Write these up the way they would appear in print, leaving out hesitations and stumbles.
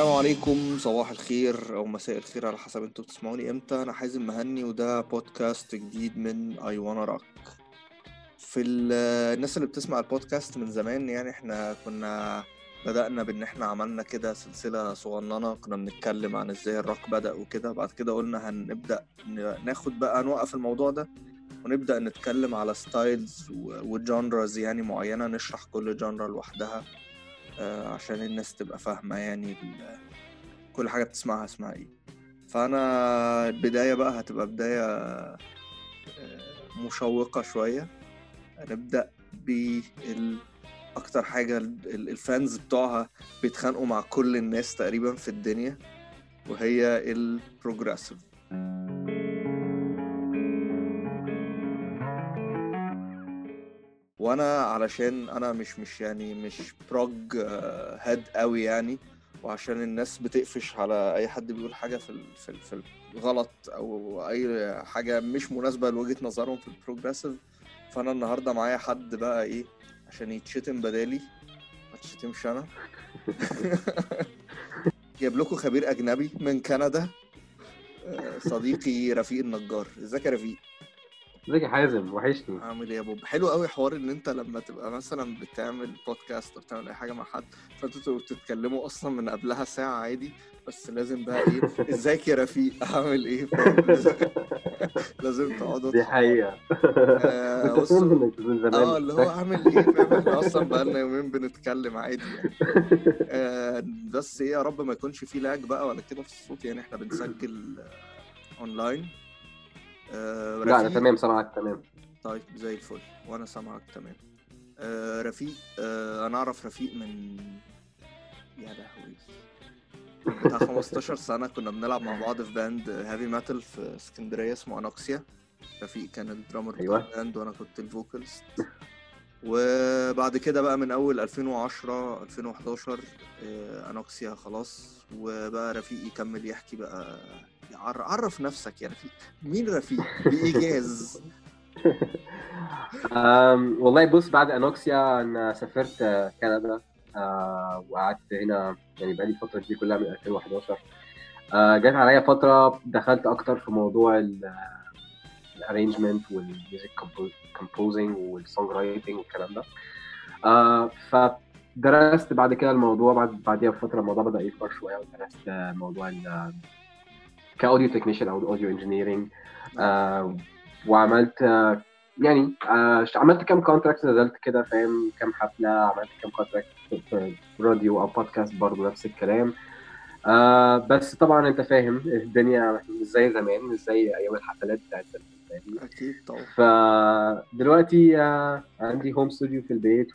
السلام عليكم، صباح الخير او مساء الخير على حسب انتوا بتسمعوني امتى. انا حازم مهني وده بودكاست جديد من اي وانا راك. الناس اللي بتسمع البودكاست من زمان، يعني احنا كنا بدأنا بان احنا عملنا كده سلسلة صغننة كنا بنتكلم عن ازاي الروك بدأ وكده. بعد كده قلنا هنبدأ ناخد بقى نوقف الموضوع ده ونبدأ نتكلم على ستايلز وجانرز يعني معينة، نشرح كل جانرا لوحدها عشان الناس تبقى فاهمة يعني كل حاجة بتسمعها اسمها ايه. فأنا البداية بقى هتبقى بداية مشوقة شوية. هنبدأ أكتر حاجة الفانز بتوعها بيتخانقوا مع كل الناس تقريبا في الدنيا، وهي البروجريسيف. وانا علشان انا مش بروج هاد قوي يعني، وعشان الناس بتقفش على اي حد بيقول حاجه في الغلط او اي حاجه مش مناسبه لوجهه نظرهم في البروجريسيف. فانا النهارده معايا حد بقى ايه عشان يتشتم بدالي، ما تشتمش انا. جايب لكم خبير اجنبي من كندا، صديقي رفيق النجار. ازيك يا رفيق؟ ازيك يا حازم، وحشني. عامل ايه يا بوب؟ حلو قوي حوار ان انت لما تبقى مثلا بتعمل بودكاست او بتعمل اي حاجه مع حد فانتوا بتتكلموا اصلا من قبلها ساعه عادي، بس لازم بقى ايه ازيك يا رفيق عامل ايه، فاهم؟ لازم تقعدوا دي تحور. حقيقة. بص، اكتشفت انك من زمان. اللي هو عامل ايه، فاهم؟ احنا اصلا بقالنا يومين بنتكلم عادي يعني. بس ايه، يا رب ما يكونش فيه لاج بقى ولا كده في الصوت، يعني احنا بنسجل اونلاين. لا انا رفيق، تمام، سامعك تمام. طيب زي الفل وانا سامعك تمام. رفيق، انا اعرف رفيق من، يا لهوي، من بتاع 15 سنة. كنا بنلعب مع بعض في باند هيفي ميتال في اسكندرية اسمه انوكسيا. رفيق كان الدرامر بتاع ايوه. الباند وانا كنت الفوكالست. وبعد كده بقى من اول 2010 2011 انوكسيا خلاص، وبقى رفيق يكمل يحكي بقى. عرف نفسك يا رفيق، مين رفيق بإيجاز؟ والله بص، بعد انوكسيا انا سافرت كندا. وقعدت هنا يعني بقالي الفترة دي كلها من 2011. جات عليا فترة دخلت اكتر في موضوع الارينجمنت والميوزك كومبوزنج والسونج رايتنج والكلام ده. فدرست بعد كده الموضوع، بعديها بفترة الموضوع بدأ يكبر شوية، ودرست موضوع كاوديو تكنيشن او اوديو انجينيرنج. وعملت يعني عملت كام كونتراكت، نزلت كده فاهم كام حفله، عملت كام كونتراكت في راديو او بودكاست برضه نفس الكلام. بس طبعا انت فاهم الدنيا مش زي زمان، مش زي ايام الحفلات بتاعت زمان. اكيد طبعا. فدلوقتي عندي هوم ستوديو في البيت،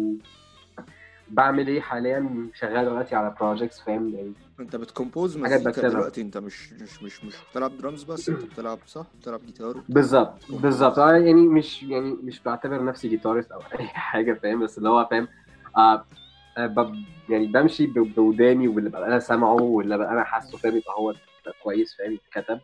وبعمل ايه حاليا، شغال دلوقتي على بروجكتس فاهم يعني. انت بتكمبوز حاجات مزيكا بكتبها. دلوقتي، انت مش بتلعب درامز بس، انت بتلعب، صح؟ بتلعب جيتار بالظبط وبتكمبوز. يعني مش بعتبر نفسي جيتارست او اي حاجه فاهم، بس اللي هو فاهم. آه يعني بمشي بوداني، واللي ببقى انا سامعه واللي ببقى انا حاسه فاهم يبقى هو كويس فاهم يتكتب.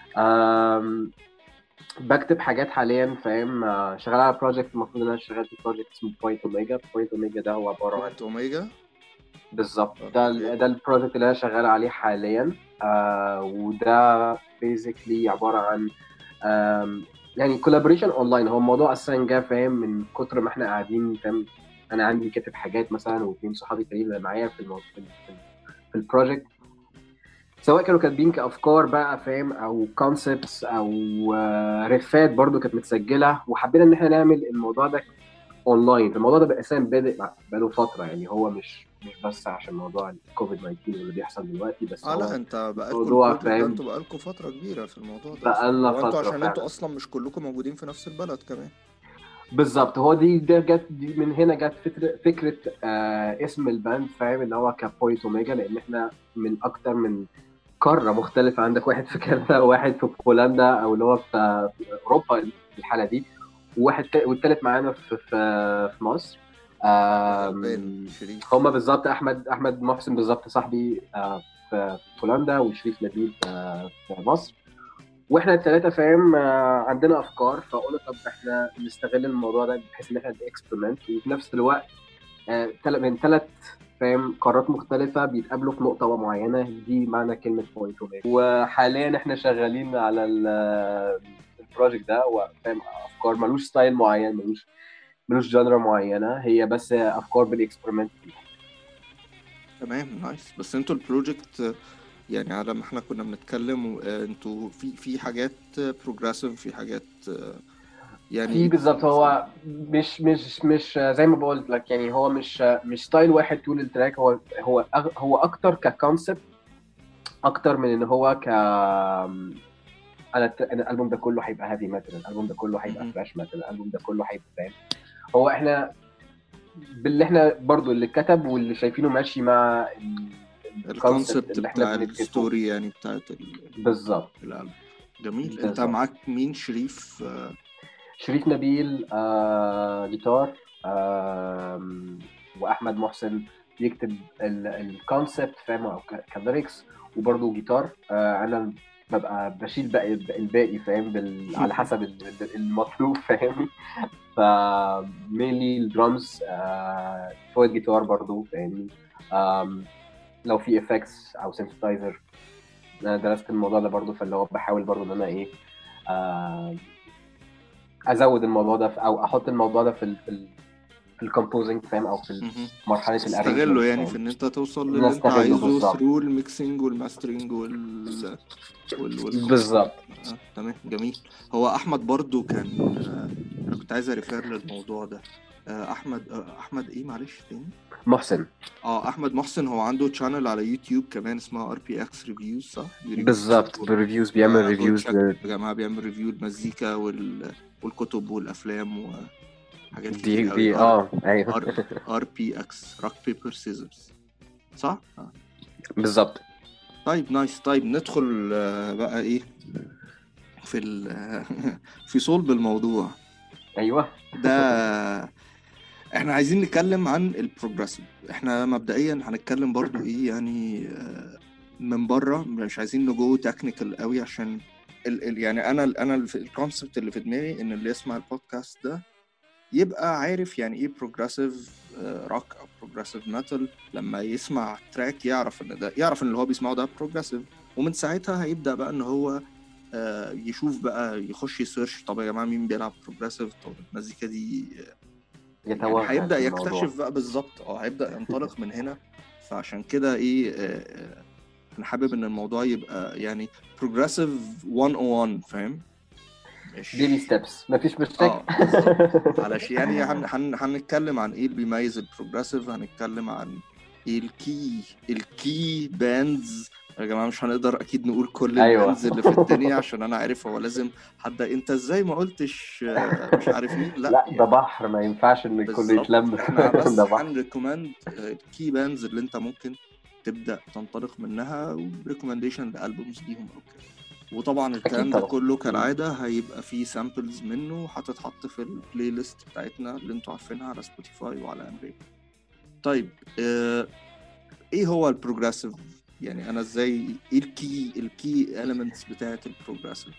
بكتب حاجات حاليا فاهم. شغال على بروجكت، المفروض ان انا شغال في بروجكت اسمه بوينت اوميجا. بوينت اوميجا ده هو عباره عن بوينت اوميجا. بالظبط اوكي. ده البروجكت اللي انا شغال عليه حاليا. وده بيزيكلي عباره عن يعني كولابوريشن اونلاين. هو الموضوع اساسا جه فاهم من كتر ما احنا قاعدين فاهم. انا عندي كاتب حاجات مثلا، واثنين صحابي تانيين اللي معايا في البروجكت، سواء كانوا كاتبين كافكار بقى فاهم، او كونسبتس، او ريفات برضو كانت متسجله، وحبينا ان احنا نعمل الموضوع ده اونلاين. الموضوع ده اساسا بادئ بقاله فتره، يعني هو مش بس عشان موضوع الكوفيد 19 واللي بيحصل دلوقتي، بس لا، هو انت بقالكوا موضوع البروجكت ده، فاهم انتوا بقالكوا فترة كبيرة في الموضوع ده اصلا، بقالنا هو انتوا فتره عشان انتوا فعلا. اصلا مش كلكم موجودين في نفس البلد كمان. بالظبط، هو ده دي من هنا جت فكره اسم الباند فاهم، اللي هو كبوينت اوميجا، لان احنا من اكتر من قاره مختلفه. عندك واحد في كندا، وواحد في بولندا او اللي هو في اوروبا في الحاله دي، والتالت معانا في مصر. غلبان شريف. هما بالظبط احمد محسن بالظبط صاحبي في بولندا، وشريف نبيل في مصر. واحنا الثلاثه فاهم عندنا افكار، فقلنا طب احنا نستغل الموضوع ده بحيث ان احنا اكسبيرمنت، وفي نفس الوقت من ثلاث فاهم قارات مختلفة بيتقابلوا في نقطة معينة، دي معنى كلمة بوينت. وحاليا احنا شغالين على البروجكت ده، وفاهم افكار ملوش ستايل معين، ملوش جانرا معينة، هي بس افكار بالاكسبيرمنت. تمام نايس. بس انتوا البروجكت يعني على ما احنا كنا بنتكلم انتوا في حاجات بروجريسيف، في حاجات يعني في بالظبط، هو مش زي ما بقول لك، يعني هو مش ستايل واحد طول التراك، هو اكتر ككونسبت، اكتر من ان هو أنا الالبوم ده كله هيبقى هيفي ميتال، الالبوم ده كله هيبقى مهم. ثراش ميتال، الالبوم ده كله هيبقى فاهم. هو احنا باللي احنا برضو اللي كتب واللي شايفينه ماشي مع الكونسبت الكونسبت اللي احنا بتاع بندرسه. الستوري يعني بتاعت بالظبط. الألبوم. جميل. انت بالظبط. معاك مين؟ شريف شريف نبيل جيتار، واحمد محسن بيكتب الكونسبت فاهم، او كليركس، وبرضه جيتار. انا ببقى بشيل باقي الباقي فاهم، على حسب المطلوب فاهم. فمينلي الدرامز، شويه جيتار برضه فاهمني. لو في افكتس او سينثسايزر، انا درست الموضوع ده برضه، فاللي هو بحاول برضه ان انا ايه، آه ازود الموضوع ده او احط الموضوع ده في الكومبوزنج فاهم، او في مهم. مرحله تستغله الارينجمنت يعني في فاهم. ان انت توصل للي انت نستغله عايزه بالظبط. ثرو الميكسينج والماسترينج والكومبوزنج. بالظبط. تمام جميل. هو احمد برضو كان انا كنت عايز اريفير للموضوع ده. احمد ايه معلش تاني؟ محسن. احمد محسن هو عنده تشانل على يوتيوب كمان اسمها RPX ريفيوز، صح؟ بالظبط، بريفيوز، بيعمل فجو ريفيوز تشيك يا جماعه، بيعمل ريفيو المزيكا والكتب والافلام وحاجات كتير قوي. دي ايوه. RPX روك بيبر سيزرز، صح؟ بالظبط. طيب نايس. طيب ندخل بقى ايه في في صلب الموضوع ايوه. ده. احنا عايزين نتكلم عن البروجريسيف. احنا مبدئيا هنتكلم برضو ايه يعني من بره، مش عايزين نجو تكنيكال قوي عشان يعني انا الكونسبت اللي في دماغي ان اللي يسمع البودكاست ده يبقى عارف يعني ايه بروجريسيف روك او بروجريسيف ميتال. لما يسمع تراك يعرف ان اللي هو بيسمعه ده بروجريسيف، ومن ساعتها هيبدأ بقى ان هو يشوف بقى، يخش يسيرش طب يا جماعة مين بيلعب بروجريسيف، طب المزيكا دي يعني يتوغل هيبدأ في الموضوع. يكتشف بقى بالظبط. هيبدأ ينطلق من هنا. فعشان كده ايه انا حابب ان الموضوع يبقى يعني بروجريسيف 101 فاهم، بيبي مش ستيبس، مفيش مشاكل. بالظبط. علشان يعني هنتكلم عن ايه اللي بيميز البروجريسيف، هنتكلم عن ايه الكي باندز. يا جماعه مش هنقدر اكيد نقول كل ايوه. الباندز اللي في الدنيا عشان انا عارف هو لازم حد انت ازاي ما قلتش مش عارف مين، لا لا ده يعني بحر، ما ينفعش ان الكل بالظبط. يتلم. احنا ده بس بحر. هنريكومند الكي باندز اللي انت ممكن تبدا تنطلق منها، وريكومنديشن لالبومز ليهم او كده. وطبعا اكيد الكلام ده طبعا. كله كالعادة هيبقى فيه سامبلز منه هتتحط في البلاي ليست بتاعتنا اللي انتوا عارفينها على سبوتيفاي وعلى امريكا. طيب ايه هو البروجريسيف؟ يعني انا ازاي ايه الكي elements بتاعت البروجريسيف؟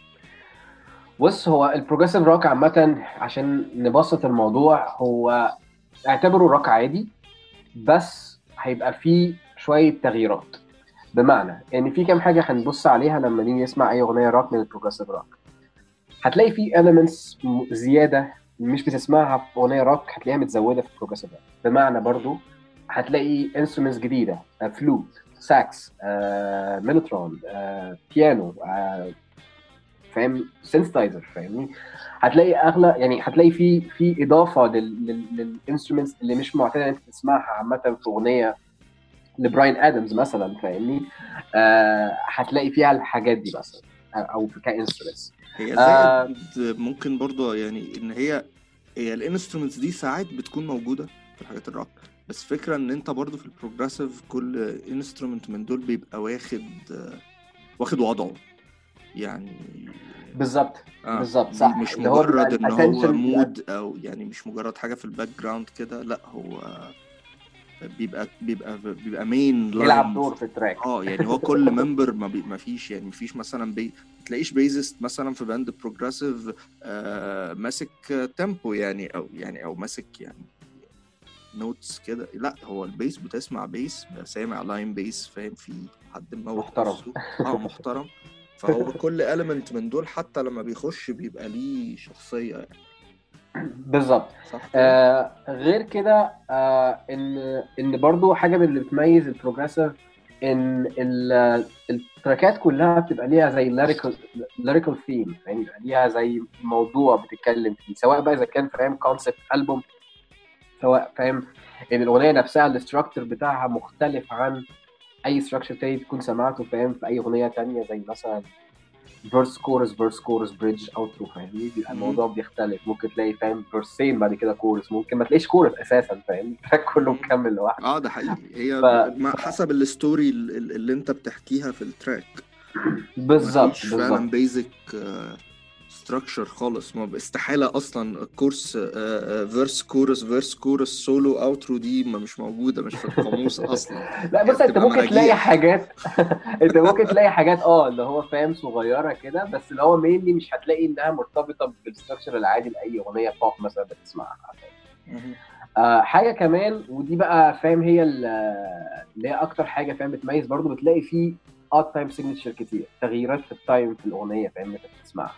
بص، هو البروجريسيف روك عامة عشان نبسط الموضوع، هو اعتبره روك عادي، بس هيبقى فيه شوية تغييرات. بمعنى ان في كام حاجة هنبص عليها لما نيجي نسمع اي اغنية روك من البروجريسيف روك. هتلاقي فيه elements زيادة مش بتسمعها في اغنية روك، هتلاقيها متزودة في البروجريسيف روك. بمعنى برضو هتلاقي instruments جديدة، فلوت، ساكس، ميلوترون، بيانو، فاهم، سينثسايزر فاهمني. هتلاقي اغلى، يعني هتلاقي في اضافه للانسترومنتس اللي مش معتاد انت تسمعها عامه في اغنيه لبراين ادمز مثلا فاهمني. هتلاقي فيها الحاجات دي مثلا، او كانسترومنتس. هي زائد ممكن برضو يعني ان هي الانسترومنتس دي ساعات بتكون موجودة في الحاجات الروك، بس فكرة ان انت برضو في البروجريسيف كل انسترومنت من دول بيبقى واخد وضعه يعني. بالظبط. بالظبط صح، مش اللي هو بيبقى مجرد ان هو الاتنشن بيبقى. مود او يعني مش مجرد حاجة في الباك جراوند كده، لا هو بيبقى مين بيلعب لاين. دور في التراك. يعني هو كل ممبر ما فيش يعني مفيش مثلا ما تلاقيش بيزست مثلا في باند بروجريسيف ماسك تيمبو يعني او ماسك يعني نوتس كده. لا هو البيس بتسمع بيس سامع لاين بيس فاهم، في حد موت محترم. نفسه محترم. فهو كل element من دول حتى لما بيخش بيبقى ليه شخصية يعني. بالظبط. صح كده؟ غير كده ان برضو حاجه من اللي بتميز البروجريسيف ان التراكات كلها بتبقى ليها زي lyrical theme، يعني يبقى ليها زي موضوع بتتكلم فيه، سواء بقى اذا كان فاهم كونسبت البوم، سواء فاهم ان الاغنيه نفسها الاستراكتر بتاعها مختلف عن اي ستراكشر تاني تكون سمعته فاهم في اي اغنيه تانية، زي مثلا فيرس كورس بريدج اوترو، فاهمني؟ بيبقى الموضوع بيختلف، ممكن تلاقي فاهم فيرسين بعد كده كورس، ممكن ما تلاقيش كورس اساسا، فاهمني؟ التراك كله مكمل لوحده. ده حقيقي. هي ف حسب الستوري اللي انت بتحكيها في التراك. بالظبط مفيش بالظبط فعلا بيزك ستراكشر خالص. ما استحالة اصلا الكورس فيرس كورس سولو اوترو دي ما مش موجودة، مش في القاموس اصلا. لا هي بص، انت بتبقى ممكن تلاقي مراجيح. حاجات انت ممكن تلاقي حاجات اللي هو فاهم صغيره كده، بس اللي هو مينلي مش هتلاقي انها مرتبطه بالستراكشر العادي لاي اغنيه بوب مثلا بتسمعها. حاجه كمان، ودي بقى فاهم هي اللي هي اكتر حاجه فاهم بتميز برضو، بتلاقي فيه تايم سيجنتشر كتير، تغييرات في التايم في الاغنيه فاهم انت بتسمعها.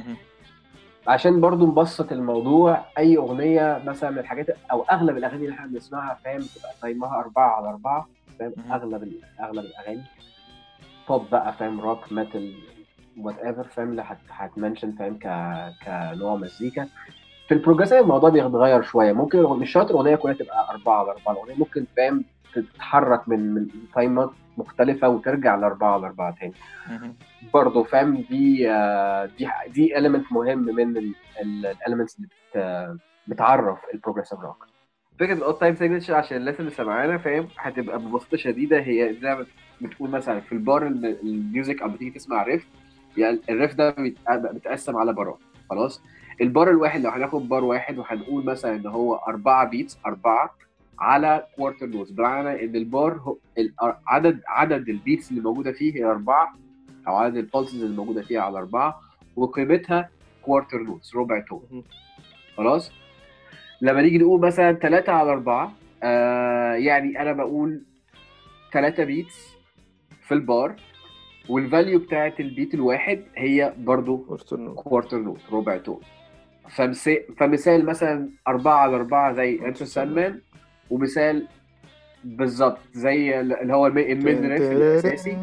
عشان برضو نبسط الموضوع، اي اغنيه مثلا من الحاجات او اغلب الاغاني اللي احنا بنسمعها فاهم بتبقى تايمها 4/4 فاهم. اغلب الاغاني بوب بقى فاهم، روك، ميتال، وات ايفر فاهم، اللي هتمنشن فاهم كنوع مزيكا. في البروجريسيف الموضوع بيتغير شويه، ممكن مش شرط الاغنيه كلها تبقى 4/4، الاغنيه ممكن فاهم تتحرك من تايمات مختلفه وترجع ل4/4 تاني برضه فاهم. دي element مهم من الاليمنتس اللي بتعرف البروجريسيف روك. فكره الاوت تايم سيجنتشر عشان الناس اللي سمعانا فاهم هتبقى ببساطه شديده، هي زي ما بتقول مثلا في البار الميوزك، او بتيجي تسمع ريف، يعني الريف ده بيتقسم على بارات. خلاص، البار الواحد لو هناخد بار واحد وهنقول مثلا ان هو 4 بيتس، 4 على كوارتر نوتس، بمعنى ان البار هو عدد البيتس اللي موجوده فيه هي 4، او عدد البولسز اللي موجوده فيها على 4، وقيمتها كوارتر نوتس، ربع تون. خلاص، لما نيجي نقول مثلا 3/4، يعني انا بقول 3 بيتس في البار، والفاليو بتاعت البيت الواحد هي برضو كوارتر نوت، ربع تون. فمثال مثلا 4/4 زي انتو ساندمان، ومثال بالظبط زي اللي هو الميد ريف الاساسي.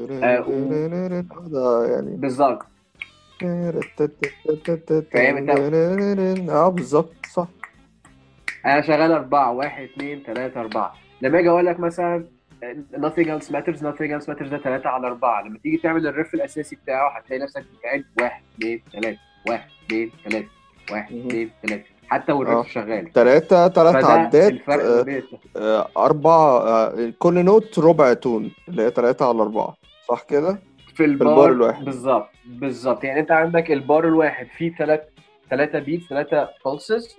يعني بالظبط فاهم انت؟ بالظبط صح. انا شغال 4 1 2 3 4. لما اجي اقول لك مثلا nothing else matters ده 3/4، لما تيجي تعمل الريف الاساسي بتاعه هتلاقي نفسك بتعد 1 2 3 1 2 3 1 2 3، حتى والريف شغال. 3 فده عدات، الفرق ما بين 4 كل نوت ربع تون، اللي هي 3/4 صح كده؟ في البار البار الواحد بالظبط. يعني انت عندك البار الواحد فيه 3 بيتس، 3 pulses،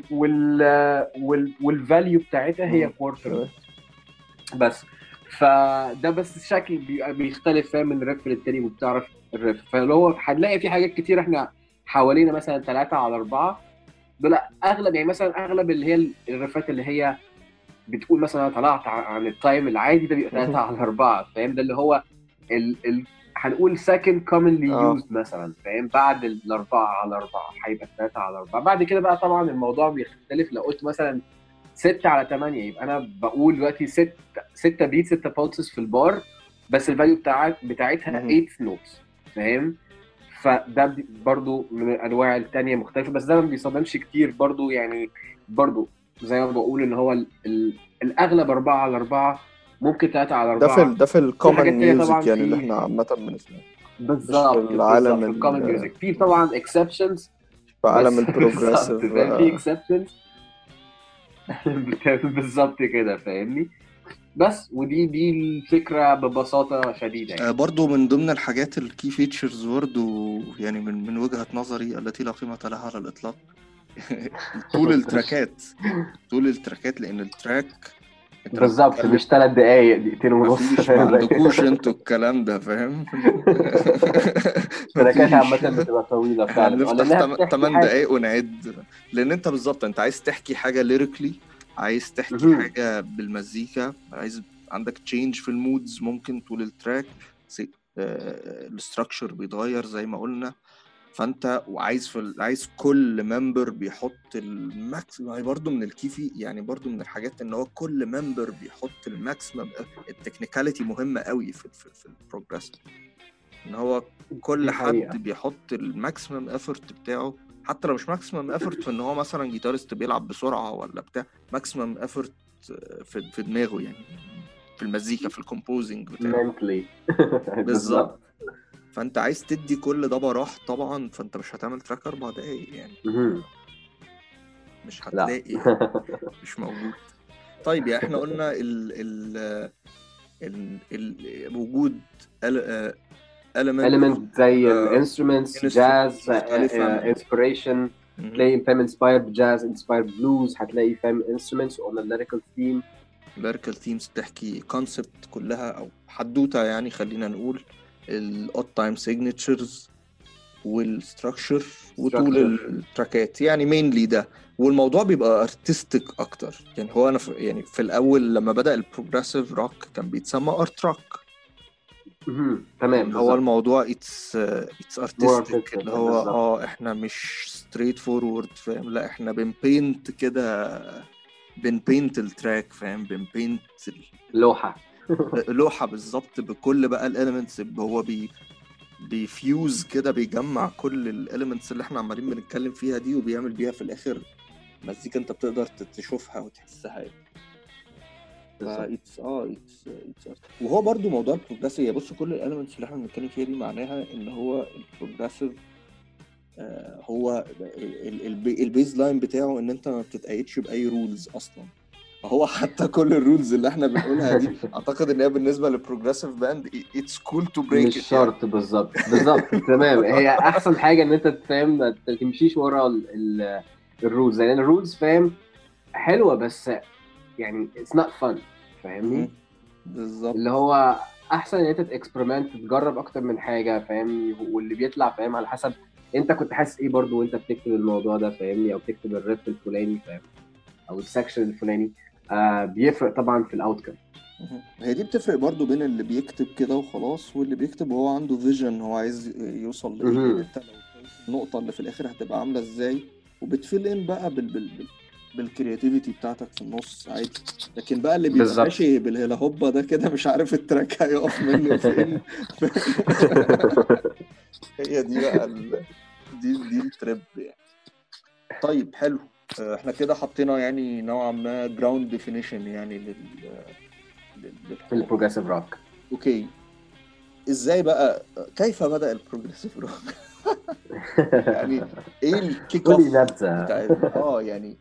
والفاليو بتاعتها هي كوارتر بس. فده بس الشكل بيختلف فاهم من الريف للتاني، وبتعرف الريف. فاللي هو هنلاقي في حاجات كتير احنا حوالينا مثلا 3/4 دول اغلب، يعني مثلا اغلب اللي هي الريفات اللي هي بتقول مثلا انا طلعت عن التايم العادي، ده بيبقى 3/4 فاهم. ده اللي هو هنقول second commonly used مثلا فاهم، بعد ال4/4 هيبقى 3/4. بعد كده بقى طبعا الموضوع بيختلف، لو قلت مثلا 6/8 يبقى انا بقول دلوقتي 6 بيت، 6 pulses في البار، بس الفاليو بتاعتها 8 نوتس فاهم. فده برضو من الانواع التانية مختلفه، بس ده ما بيصادمش كتير برضو، يعني برضو زي ما بقول ان هو الاغلب 4/4، ممكن 3/4. ده في الكومن ميوزك يعني اللي احنا عامة بنسمعه، مش في بالظبط العالم في الكومن ميوزك. في طبعا اكسبشنز، في عالم بس البروجريسيف بالظبط فاهم، في اكسبشنز بالظبط كده فاهمني. بس ودي الفكره ببساطه شديده يعني. برضو من ضمن الحاجات الكي فيتشرز برضو، يعني من وجهة نظري التي لا قيمة لها على الإطلاق طول التراكات، لأن التراك بالظبط مش 3 دقايق، 2.5 مفيش، ما عندكوش انتوا الكلام ده فاهم. التراكات عامة مفيش. بتبقى طويلة احنا فعلا، بنفتح لأنها بتحكي 8 حاجة. دقايق ونعد، لان انت بالظبط انت عايز تحكي حاجه ليريكلي عايز تحكي حاجة بالمزيكا، عايز عندك تشينج في المودز ممكن طول التراك، الاستراكشر بيتغير زي ما قلنا. فانت وعايز عايز كل ممبر بيحط الماكسيمم، يعني برضو من الكيفي، يعني برضو من الحاجات ان هو كل ممبر بيحط الماكسيمم. التكنيكاليتي مهمة قوي في البروجريس، ان هو كل حد بيحط الماكسيمم افورت بتاعه، حتى لو مش ماكسيمم افورت في ان هو مثلا جيتارست بيلعب بسرعة ولا بتاع، ماكسيمم افورت في دماغه، يعني في المزيكا، في الكومبوزنج بتاعه بالظبط. فانت عايز تدي كل ده براح طبعا، فانت مش هتعمل تراك 4 دقايق يعني، مش هتلاقي يعني. مش موجود. طيب يعني احنا قلنا وجود element زي الانسترومنتس، جاز، انسبيريشن، تلاقي فاهم inspired jazz، inspired blues، هتلاقي فاهم instruments on a lyrical theme. lyrical themes بتحكي concept كلها او حدوته يعني، خلينا نقول ال odd time signatures والستراكشر وطول التراكات، يعني مينلي ده. والموضوع بيبقى ارتستيك اكتر يعني. هو انا يعني في الاول لما بدأ البروجريسيف روك كان بيتسمى ارت روك. تمام. هو الموضوع اتس ارتستيك، اللي هو احنا مش ستريت فورورد فاهم، لا احنا بنبينت كده، بنبينت التراك فاهم، بنبينت لوحة بالظبط بكل بقى الاليمنتس. هو بيفيوز كده، بيجمع كل الاليمنتس اللي احنا عمالين بنتكلم فيها دي، وبيعمل بيها في الاخر مزيكا انت بتقدر تشوفها وتحسها يعني. وهو برضو موضوع البروجريسيف، بص كل الاليمنتس اللي احنا بنتكلم فيها دي معناها ان هو البروجريسيف هو البيز لاين بتاعه ان انت ما بتتقيدش باي رولز اصلا. هو حتى كل الرولز اللي احنا بنقولها دي اعتقد ان هي بالنسبه للبروجريسيف باند اتس كول تو بريك، مش شرط يعني. بالظبط تمام. هي احسن حاجه ان انت تفهم ما تمشيش ورا الرولز، لان الرولز فاهم حلوه بس يعني اتس نوت فن، فاهمني؟ بالظبط. اللي هو احسن ان انت تاكسبيرمنت، تجرب اكتر من حاجه فاهمني، واللي بيطلع فاهم على حسب انت كنت حاسس ايه برضو وانت بتكتب الموضوع ده فاهمني، او بتكتب الريف الفلاني فاهم، او السكشن الفلاني. بيفرق طبعا في الاوتكم. هي دي بتفرق برضو بين اللي بيكتب كده وخلاص، واللي بيكتب وهو عنده فيجن، هو عايز يوصل لايه. انت لو النقطه اللي في الاخر هتبقى عامله ازاي، وبتفيل ان بقى بالكرياتيفيتي بتاعتك في النص عادي. لكن بقى اللي بيبقى ماشي بالهلا هوبا ده كده مش عارف التراك هيقف منه فين. هي دي بقى دي التريب يعني. طيب حلو، احنا كده حطينا يعني نوعا ما جراوند ديفينيشن يعني للبروجريسيف روك. اوكي، ازاي بقى، كيف بدأ البروجريسيف روك؟ يعني ايه الكيك اوف بتاع يعني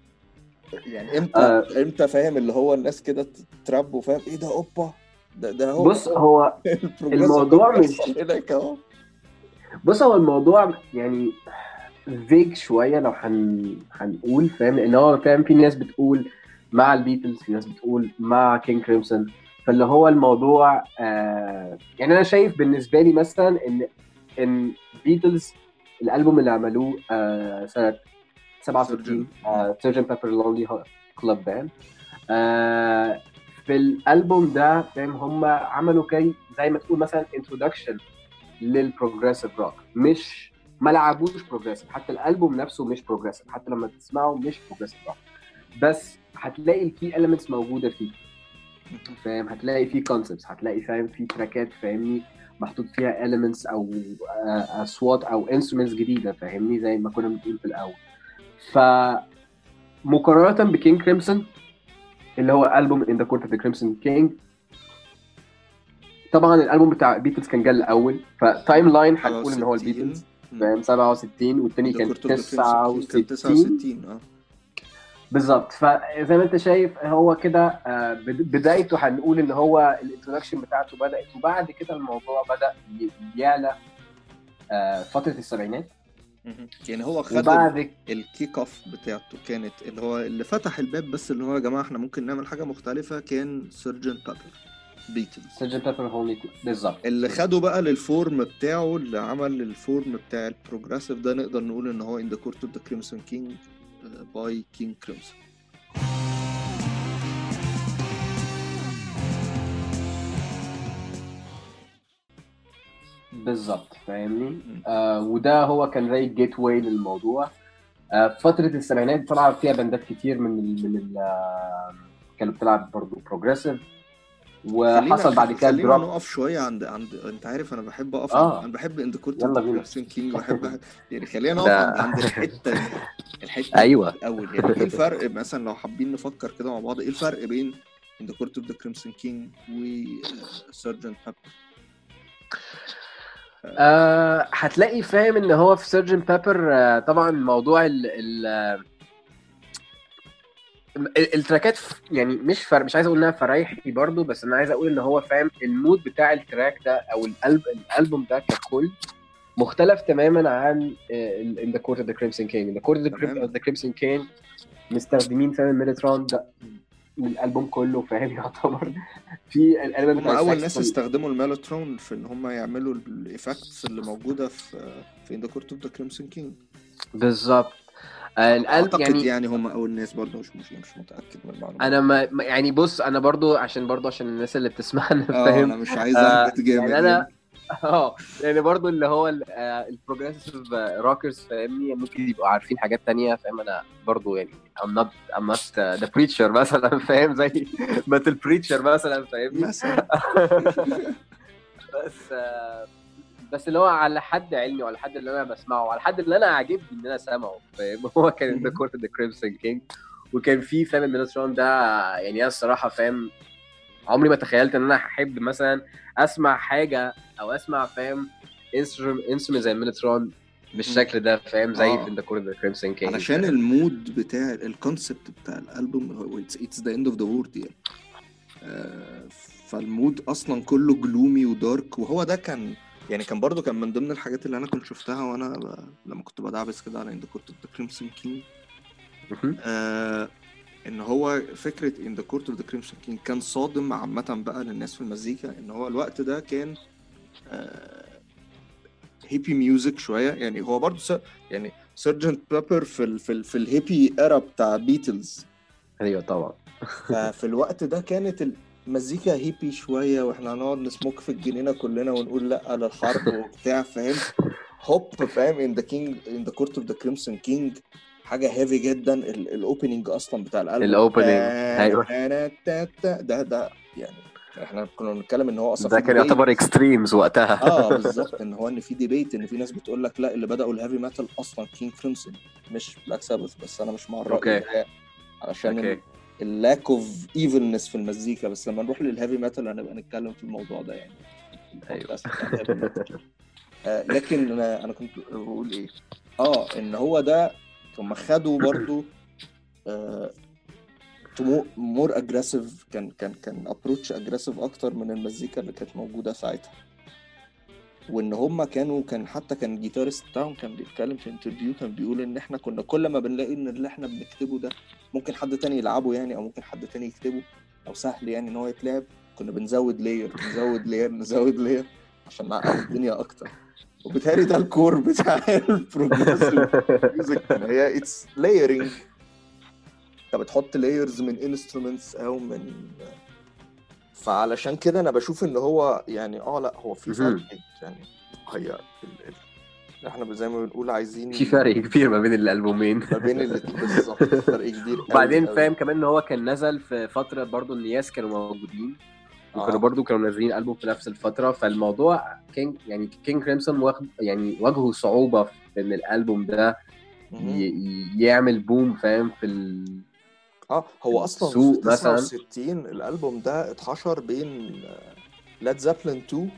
امتى فاهم اللي هو الناس كده تراب وفاهم ايه ده، اوبا ده هو. بص هو الموضوع مش هناك اهو. بص هو الموضوع يعني فيج شويه لو هنقول فاهم، ان هو فاهم في ناس بتقول مع البيتلز، في ناس بتقول مع كينج كريمسون. فاللي هو الموضوع يعني انا شايف بالنسبه لي مثلا ان بيتلز الالبوم اللي عملوه سنه 67 سيرجن بيبر لونلي كلاب باند، في الالبوم ده فاهم هم عملوا زي ما تقول مثلا انترودكشن للبروجريسيف روك. مش ما لعبوش بروجريسيف، حتى الالبوم نفسه مش بروجريسيف، حتى لما تسمعه مش بروجريسيف روك، بس هتلاقي الكي اليمنتس موجوده فيه فاهم. هتلاقي فيه كونسبتس، هتلاقي فاهم فيه تراكات فاهمني محطوط فيها اليمنتس او اصوات او انسترومنتس جديده فاهمني، زي ما كنا بنقول في الاول. فمقارنه بكينج كريمسون اللي هو البوم ان ذا كورت اوف ذا كريمسون كينج، طبعا الالبوم بتاع بيتلز كان جاي الاول، فتايم لاين هنقول ان هو البيتلز فاهم 67 والتاني كان 69 بالظبط. فزي ما انت شايف هو كده بدايته هنقول ان هو الانترودكشن بتاعته بدات، وبعد كده الموضوع بدا يعلى فتره السبعينات. يعني هو خد الكيك اوف بتاعته كانت اللي هو اللي فتح الباب، بس اللي هو يا جماعه احنا ممكن نعمل حاجه مختلفه، كان سيرجن بيبر بيتلز. سيرجن بيبر هونلي بالظبط، اللي خده بقى للفورم بتاعه، اللي عمل الفورم بتاع البروجريسيف ده، نقدر نقول ان هو In the Court of the Crimson King باي كينج كريمسون. بالظبط فاهمني. مم. وده هو كان زي الجيت واي للموضوع. فترة السبعينات طلع فيها بندات كتير كانوا بتلعب برضو بروجريسيف، وحصل بعد كده خلينا دروب. نقف شويه عند انت عارف انا بحب اقف اه انا بحب اند كورت اوف ذا يلا بينا. كريمسون كينج، وبحب يعني خلينا نقف ده عند الحته دي ايوه. الاول. يعني ايه الفرق مثلا لو حابين نفكر كده مع بعض، ايه الفرق بين اند كورت اوف ذا كريمسون كينج وسيرجنت بيبر؟ هتلاقي فاهم ان هو في سيرجن بيبر طبعا موضوع التراكات يعني مش عايز اقول انها فرايحي برضو، بس انا عايز اقول ان هو فاهم المود بتاع التراك ده او الالبوم ده ككل مختلف تماما عن In the Court of the Crimson King. In the Court of تماما. the Crimson King مستخدمين فاهم الميلترون ده للالبوم كله فاهم يعتبر في الالبوم هم بتاع اول الساكس ناس استخدموا الميلوترون في ان هم يعملوا الايفكتس اللي موجوده في اند كورت اوف ذا كريمسون كينج. بالظبط. القلب اعتقد يعني يعني هم اول ناس، برضه مش متاكد من المعلومات انا دي. يعني بص انا برضو عشان الناس اللي بتسمعنا فاهم. انا مش عايز اهبط يعني جامد يعني. انا يعني برضو اللي هو البروجريسيف روكرز فاهمني ممكن يبقوا عارفين حاجات تانية فاهم. انا برضو يعني I'm not the preacher مثلا فاهم زي metal preacher مثلا فاهمني. مثلا. بس بس اللي هو على حد علمي وعلى حد اللي انا بسمعه وعلى حد اللي انا عاجبني ان انا سامعه فاهم. هو كان ذا كورت ذا كريمسون كينج، وكان في فاهم الميلترون ده. يعني انا الصراحه فاهم عمري ما تخيلت ان انا هحب مثلا اسمع حاجه او اسمع فاهم انسترومنت زي الميلترون بالشكل ده فاهم زي في ذا كورت ذا كريمسون كينج. علشان المود بتاع الكونسبت بتاع الالبوم هو اتس ذا اند اوف ذا وورد يعني. فالمود اصلا كله جلومي ودارك، وهو ده كان يعني برضو كان من ضمن الحاجات اللي انا كنت شفتها وانا لما كنت بدعبس كده على اند كورت اوف ذا كريمسون كينج. ان هو فكره ان ذا كورت اوف ذا كريمسون كينج كان صادم عامه بقى للناس في المزيكا، ان هو الوقت ده كان هيبي ميوزك شويه. يعني هو برضو يعني سيرجنت بيبر في الهيبي ايرا بتاع بيتلز. ايوه طبعا. ففي الوقت ده كانت المزيكا هيبي شويه، واحنا هنقعد نسموك في الجنينه كلنا ونقول لا للحرب وبتاع فاهم. هوب فاهم ان ذا كورت اوف ذا كريمسون كينج حاجه هيفي جدا. الاوبننج اصلا بتاع الالبوم الاوبننج ايوه ده يعني احنا كنا بنتكلم ان هو اصلا ده في كان ديبيت. يعتبر اكستريمز وقتها. بالظبط، ان هو ان في ديبيت ان في ناس بتقول لك لا اللي بداوا الهيفي ميتال اصلا كينج كريمسون مش بلاك سابث. بس انا مش مع الراي اوكي ده علشان اوكي اللاك اوف ايفلنس في المزيكا. بس لما نروح للهيفي ميتال هنبقى نتكلم في الموضوع ده يعني ايوه. بتاع الهيفي ميتال. لكن انا كنت بقول ايه ان هو ده هم خدوا برضو مور اجريسيف. كان ابروتش اجريسيف اكتر من المزيكا اللي كانت موجوده ساعتها. وان هم كان حتى كان الجيتارست بتاعهم كان بيتكلم في انترفيو، كان بيقول ان احنا كنا كل ما بنلاقي ان اللي احنا بنكتبه ده ممكن حد تاني يلعبه يعني، او ممكن حد تاني يكتبه او سهل يعني ان هو يتلعب، كنا بنزود لاير عشان نعقد الدنيا اكتر. وبالتالي ده الكور بتاع البروجريسيف ميوزك، هي اتس لايرنج. انت بتحط لايرز من انسترومنتس او من فعلشان كده انا بشوف ان هو يعني لا هو في فرق يعني. هي احنا زي ما بنقول عايزين في فرق كبير ما بين الالبومين. ما بين الاتنين بالظبط، فرق كبير قوي وبعدين قوي. فاهم كمان ان هو كان نزل في فتره برضو النياس كانوا موجودين وكانوا برضو كانوا نازلين ألبوم في نفس الفترة. فالموضوع كينج كريمسون واجهوا صعوبة في ان الألبوم ده يعمل بوم فاهم في هو اصلا في 69 الألبوم ده اتحشر بين لاد زابلين 2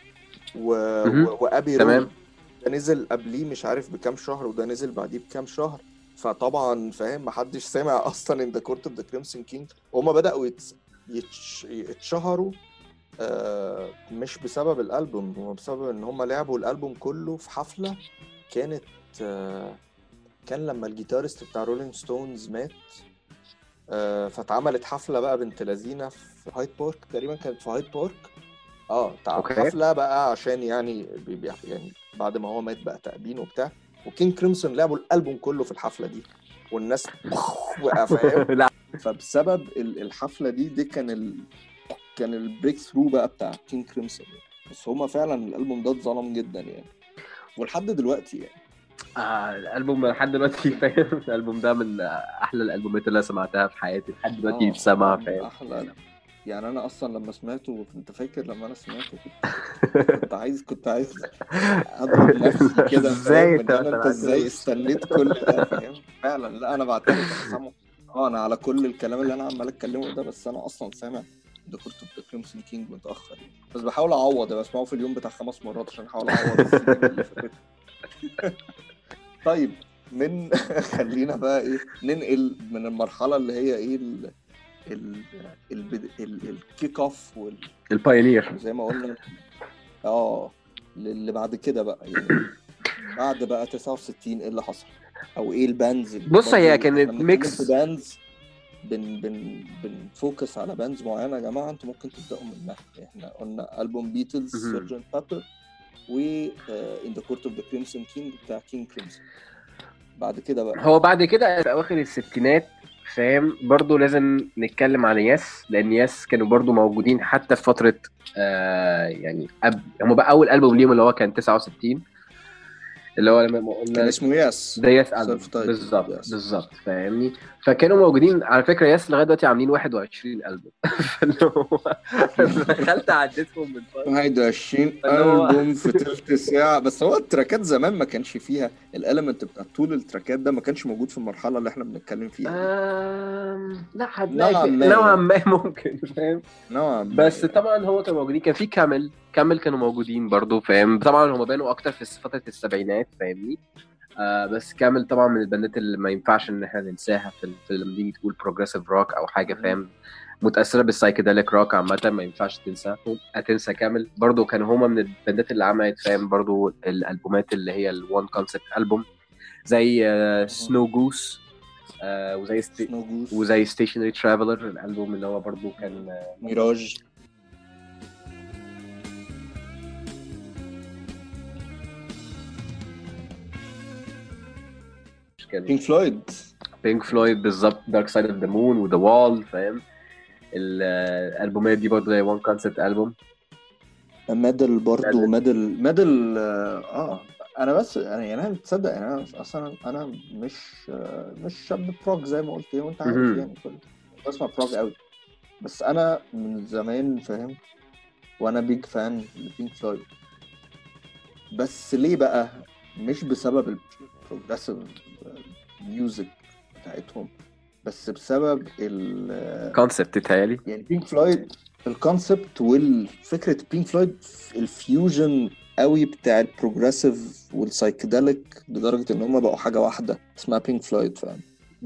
وابي رود. ده نزل قبليه مش عارف بكام شهر، وده نزل بعديه بكام شهر. فطبعا فاهم محدش سامع اصلا ان ذا كورت اوف ذا كريمسون كينج. وهم بداوا يتشهروا مش بسبب الالبوم، هو بسبب ان هم لعبوا الالبوم كله في حفله كانت كان لما الجيتارست بتاع رولينج ستونز مات. فاتعملت حفله بقى بنت لذينه في هايد بارك تقريبا، كانت في هايد بارك حفله بقى عشان يعني بعد ما هو مات بقى تأبين وبتاع. وكينج كريمسون لعبوا الالبوم كله في الحفله دي والناس وقع فاهم. فبسبب الحفله دي كان البريك ثرو بقى بتاع كينج كريمسون. بس هما فعلا الالبوم ده اتظلم جدا يعني، ولحد دلوقتي يعني. الالبوم لحد دلوقتي فاهم. الالبوم ده من احلى الالبومات اللي أنا سمعتها في حياتي لحد دلوقتي يتسمع من فاهم. احلى يعني. انا اصلا لما سمعته، انت فاكر لما انا سمعته كنت عايز اضرب نفسي كده، ازاي فاهم؟ انت ان ما انت ازاي سمعتوش؟ استنيت كل ده، فاهم؟ فعلا. لا انا بعترف انا سامعه. انا على كل الكلام اللي انا عمال اتكلمه ده، بس انا اصلا سامع ذا كورت اوف ذا كريمسون كينج متاخر يعني. بس بحاول اعوض، بسمعه في اليوم بتاع 5 مرات عشان احاول اعوض السنين اللي فاتت. طيب، من خلينا بقى ايه، ننقل من المرحله اللي هي ايه ال الكيك اوف البايونير. زي ما قلنا. اه، اللي بعد كده بقى يعني، بعد بقى 69 ايه اللي حصل؟ او ايه الباندز بص هي برضو احنا كانت بنتكلم في ميكس. باندز، بنفوكس على باندز معينه. يا جماعه انتوا ممكن تبداوا منها. احنا قلنا البوم بيتلز، سيرجنت بابر، و ان ذا كورت اوف ذا كريمسون كينج بتاع كينج كريمسون. بعد كده بقى هو بعد كده في اواخر الستينات فاهم برضو لازم نتكلم عن ياس، لان ياس كانوا برضو موجودين حتى في فتره يعني هم بقى اول البوم ليهم اللي هو كان 69 اللي هو لما كان قلنا اسمه ياس، ده ياس البوم سيلف تايتل بالظبط يس. بالظبط فاهمني. فكانوا موجودين على فكره ياس لغايه دلوقتي عاملين 21 البوم. فاللي هو دخلت عديتهم من فتره. 21 فاللي هو ألبوم في تلت ساعة. بس هو التراكات زمان ما كانش فيها الاليمنت بتاع طول التراكات ده، ما كانش موجود في المرحلة اللي احنا بنتكلم فيها دي. لا هتلاقي نوعا في ما نوعا يعني، ما ممكن فاهم. نوعا ما بس يعني. طبعا هو كان موجودين، كان في كامل كانوا موجودين برضو فاهم. طبعا هم بانوا اكتر في فتره السبعينات فاهمني. بس كامل طبعا من البندات اللي ما ينفعش ان احنا ننساها في لما تيجي تقول بروجريسيف روك او حاجه فاهم، متاثره بالسايكيديليك روك عامه، ما ينفعش تنسى كامل. برضو كانوا هما من البندات اللي عملت فاهم برضو الالبومات اللي هي الوان كونسبت البوم زي سنو جوس سنو جوس، وزي ستيشنري ترافلر الالبوم اللي هو برضو كان ميراج. بينك فلويد. بينك فلويد بالظبط، دارك سايد اوف ذا مون وذا وال فاهم. الالبومات دي برضو زي وان كونسبت البوم. ميدل برضو، ميدل انا بس يعني انا تصدق يعني انا اصلا انا مش شاب بروك زي ما قلت وانت عارف يعني. بسمع بروك قوي، بس انا من زمان فاهم، وانا بيج فان لبينك فلويد. بس ليه بقى؟ مش بسبب البروجريسيف ميوزك بتاعتهم، بس بسبب كونسبت تتهيألي يعني بينك فلويد، الكونسبت والفكرة. بينك فلويد الفيوجن قوي بتاع البروجريسيف والسايكيديليك، لدرجة ان هم بقوا حاجة واحدة اسمها بينك فلويد، فاهم؟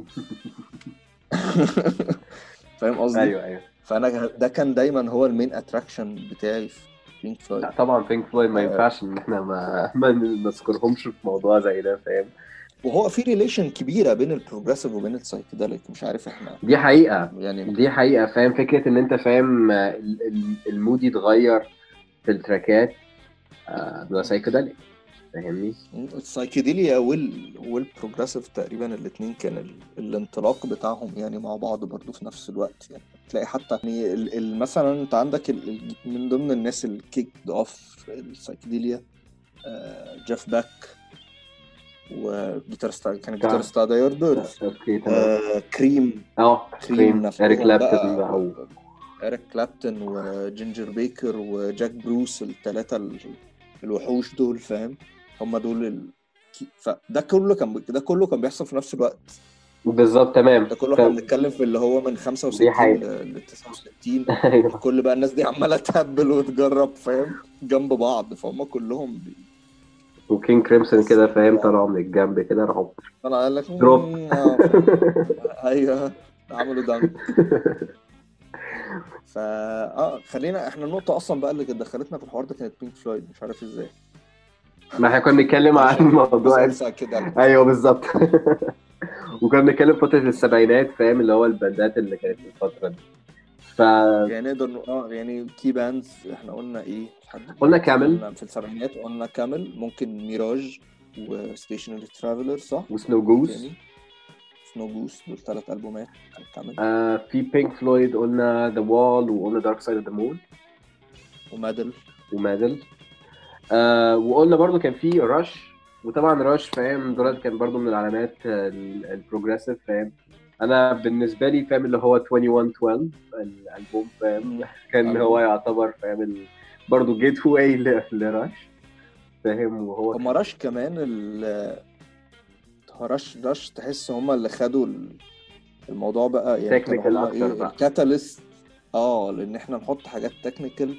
فاهم قصدي؟ ايوه فانا ده كان دايما هو المين اتراكشن بتاعي في بينك فلويد. لا طبعا بينك فلويد ما ينفعش ان احنا ما نذكرهمش في موضوع زي ده فاهم. وهو في ريليشن كبيرة بين البروجريسيف وبين السايكيديليك، مش عارف احنا دي حقيقة يعني. دي حقيقة فاهم. فكرة ان انت فاهم المود يتغير في التراكات بلا سايكيديليك فاهمني. السايكيديليا والبروجريسيف تقريبا الاثنين كان الانطلاق بتاعهم يعني مع بعض برضو في نفس الوقت يعني. تلاقي حتى يعني مثلا انت عندك من ضمن الناس الكيك اوف السايكيديليا جيف باك، وجيتارستا كان جيتارستا داير بيردز، اوكي تمام. كريم كريم اريك نفسهم كلابتون بقى، بقى إريك كلابتون وجينجر بيكر وجاك بروس، الثلاثة الوحوش دول، فاهم؟ هم دول ده كله كان بيحصل في نفس الوقت. بالظبط تمام. ده كله احنا بنتكلم في اللي هو من دي 65 حقيقة. ل 69. ايوه. الكل بقى الناس دي عمالة تهبل وتجرب، فاهم؟ جنب بعض، فهم كلهم وكينج كريمسون كده بيأثروا في فاهم بعض. طلعوا من الجنب كده راحوا انا قال لك دروب. فاهم. ايوه، عملوا دانك. خلينا احنا النقطة اصلا بقى اللي كانت دخلتنا في الحوار ده كانت بينك فلويد، مش عارف ازاي. ما احنا كنا بنتكلم عن علشان موضوع جزء كده. ايوه بالظبط. وكنا بنتكلم فترة السبعينات فاهم اللي هو الباندات اللي كانت في الفترة دي. ف يعني نقدر يعني كي باندز احنا قلنا ايه لحد قلنا دلوقتي؟ كامل قلنا في السبعينات قلنا كامل، ممكن ميراج وستيشنري ترافلر، صح؟ وسنو ايه جوز. تاني؟ سنو جوس، دول 3 ألبومات كامل. في بينك فلويد قلنا ذا وال وقلنا دارك سايد اوف ذا مون ومادل. ومادل. وقلنا برضو كان في رش، وطبعا رش فاهم دولت كان برضو من العلامات البروجريسيف فاهم. انا بالنسبه لي فاهم اللي هو 2112 الالبوم فاهم كان هو يعتبر فاهم برضو جيت واي لرش فاهم. وهو هما رش كمان رش تحس هما اللي خدوا الموضوع بقى، يعني كانوا تكنيكال هما اكتر ايه بقى. الكاتاليست. لان احنا نحط حاجات تكنيكال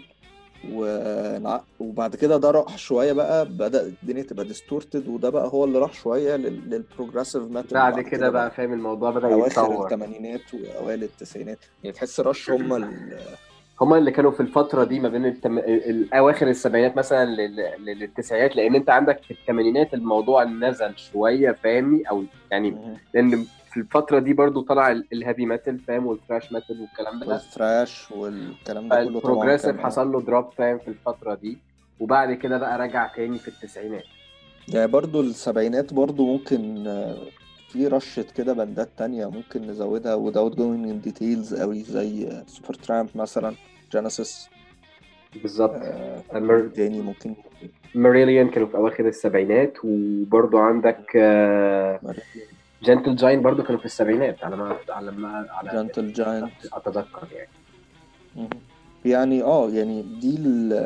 وبعد كده ده راح شويه بقى، بدأ الدنيا تبقى ديستورتد، وده بقى هو اللي راح شويه للبروجريسيف ميتال بعد بعد كده كده بقى بقى فاهم الموضوع بدأ اواخر يتطور. الثمانينات واوائل التسعينات. يعني تحس رش هما هما اللي كانوا في الفترة دي ما بين أواخر السبعينات مثلا للتسعينات، لأن أنت عندك في الثمانينات الموضوع نزل شوية فاهمني، أو يعني لأن في الفترة دي برضو طلع الهيفي ميتال فاهم والثراش ميتال والكلام ده، والثراش والكلام ده كله طبعا فالبروجريسيف كان حصل له دروب فاهم في الفترة دي، وبعد كده بقى رجع تاني في التسعينات. يعني برضو السبعينات برضو ممكن في رشة كده بندات تانية ممكن نزودها without going in details قوي، زي سوبر ترامب مثلا، جينيسيس. بالظبط. مين تاني ممكن؟ ماريليان كانوا في أواخر السبعينات، وبرضو عندك جنتل جاين برضو كانوا في السبعينات على جنتل جاينت اتذكر يعني. يعني يعني دي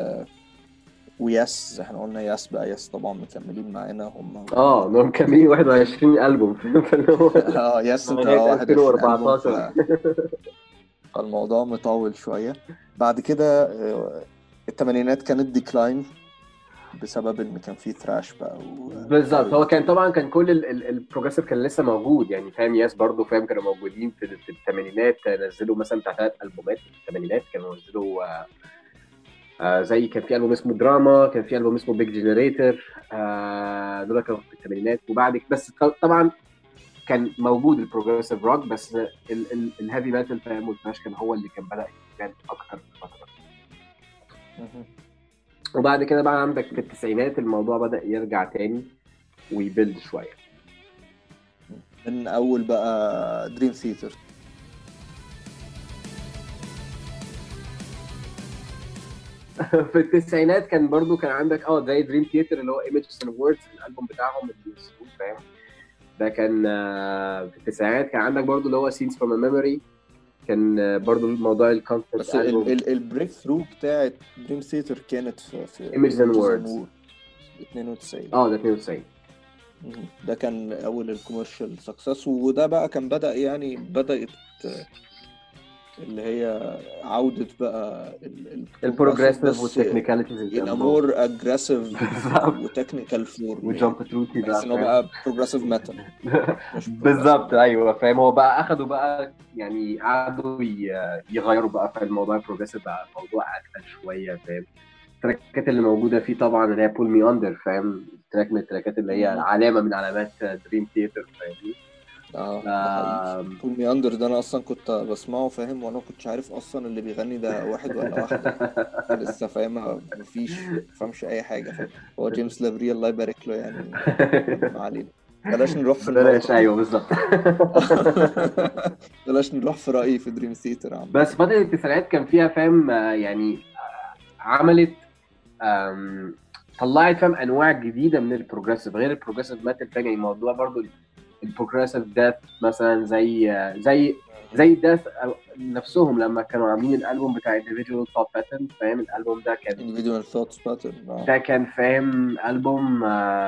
وياس، احنا قلنا ياس بقى، ياس طبعا مكملين معانا هم دول مكملين 21 ألبوم فاللي هو ياس انت لغاية 21 ألبوم 2014. فالموضوع مطول شوية. بعد كده الثمانينات كانت ديكلاين بسبب ان كان في ثراش بقى بالظبط. هو كان طبعا كان كل البروجريسيف كان لسه موجود يعني فاهم. ياس برضو فاهم كانوا موجودين في الثمانينات، نزلوا مثلا بتاع 3 ألبومات في الثمانينات. كانوا نزلوا زي كان في ألبوم اسمه دراما، كان في ألبوم اسمه بيج جنريتور، دول كانوا في الثمانينات. وبعد بس طبعا كان موجود البروجريسيف روك، بس الهيفي ميتال فاهم والثراش كان هو اللي كان بدأ يبان اكتر في الفتره. وبعد كده بقى عندك في التسعينات الموضوع بدأ يرجع تاني ويبيلد شويه. من اول بقى دريم ثيتر. في التسعينات كان برضو كان عندك زي دريم ثيتر اللي هو ايمجز اند ووردز، الالبوم بتاعهم اللي نزلوه فاهم. ده كان في التسعينات. كان عندك برضو اللي هو سينز فروم ميموري، كان برضو الموضوع الكونسبت بس البوم. البريك ثرو بتاعت دريم ثيتر كانت في ايمجز اند ووردز 92. ده 92. ده كان اول الكوميرشال سكسس، وده بقى كان بدأت اللي هي عودة بقى البروجريسيف والتكنيكاليتيز in a more aggressive وتكنيكال فورم وجامب تروتي بحيث ان هو بقى بروجريسيف ميتال. بالظبط ايوه فاهم. هو بقى اخدوا بقى يعني قعدوا يغيروا بقى في الموضوع البروجريسيف، بقى الموضوع اكتر شويه فاهم. التراكات اللي موجوده فيه طبعا اللي هي بول مي اندر فاهم، تراك من التراكات اللي هي علامه من علامات دريم ثيتر فاهمني. ده حقيقي. بول مي اندر ده انا اصلا كنت بسمعه فاهم، وانا كنتش عارف اصلا اللي بيغني ده واحد ولا واحده لسه فاهمها، مفيش فهمش اي حاجه فاهم. هو جيمس لافري الله يبارك له يعني. ما علينا، بلاش نروح في بلاش. النقطه دي. ايوه بالظبط. بلاش نروح في رايي في دريم ثيتر عامه. بس فتره التسعينات كان فيها فاهم يعني عملت طلعت فاهم انواع جديده من البروجريسيف غير البروجريسيف ميتال فاهم. يعني الموضوع برضو البروجريسيف داث مثلا زي داث نفسهم لما كانوا عاملين الالبوم بتاع individual thought pattern فاهم. الالبوم ده كان individual thoughts pattern ده كان فاهم البوم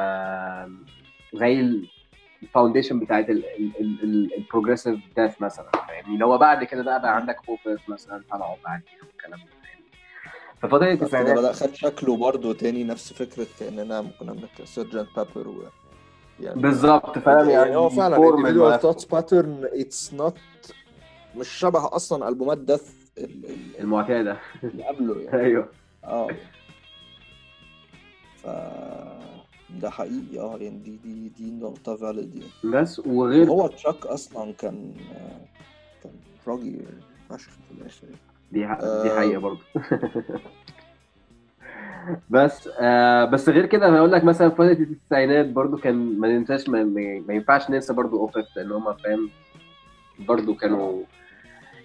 زي الفاونديشن بتاعت البروجريسيف داث مثلا فاهمني. لو بعد كده بقى عندك اوبرز مثلا طلعوا بعد وكلام ده. ففضل التسعينات بدأ خد شكله برضه تاني، نفس فكرة كأننا كنا بنك سيرجنت بابر يعني بالظبط فاهم. يعني هو فعلا individual thoughts نفسه pattern it's not مش شبه أصلا ألبومات دث المعتادة اللي قبله يعني. ايوه ف ده حقيقي يعني دي نقطة valid يعني. بس وغير هو تشاك أصلا كان راجل فشخ في الآخر. دي حقيقة برضه. بس غير كده هقول لك مثلا فترة التسعينات برضو كان ما ننساش ما ينفعش ننسى برضو اوبس، لان هم فاهم برضو كانوا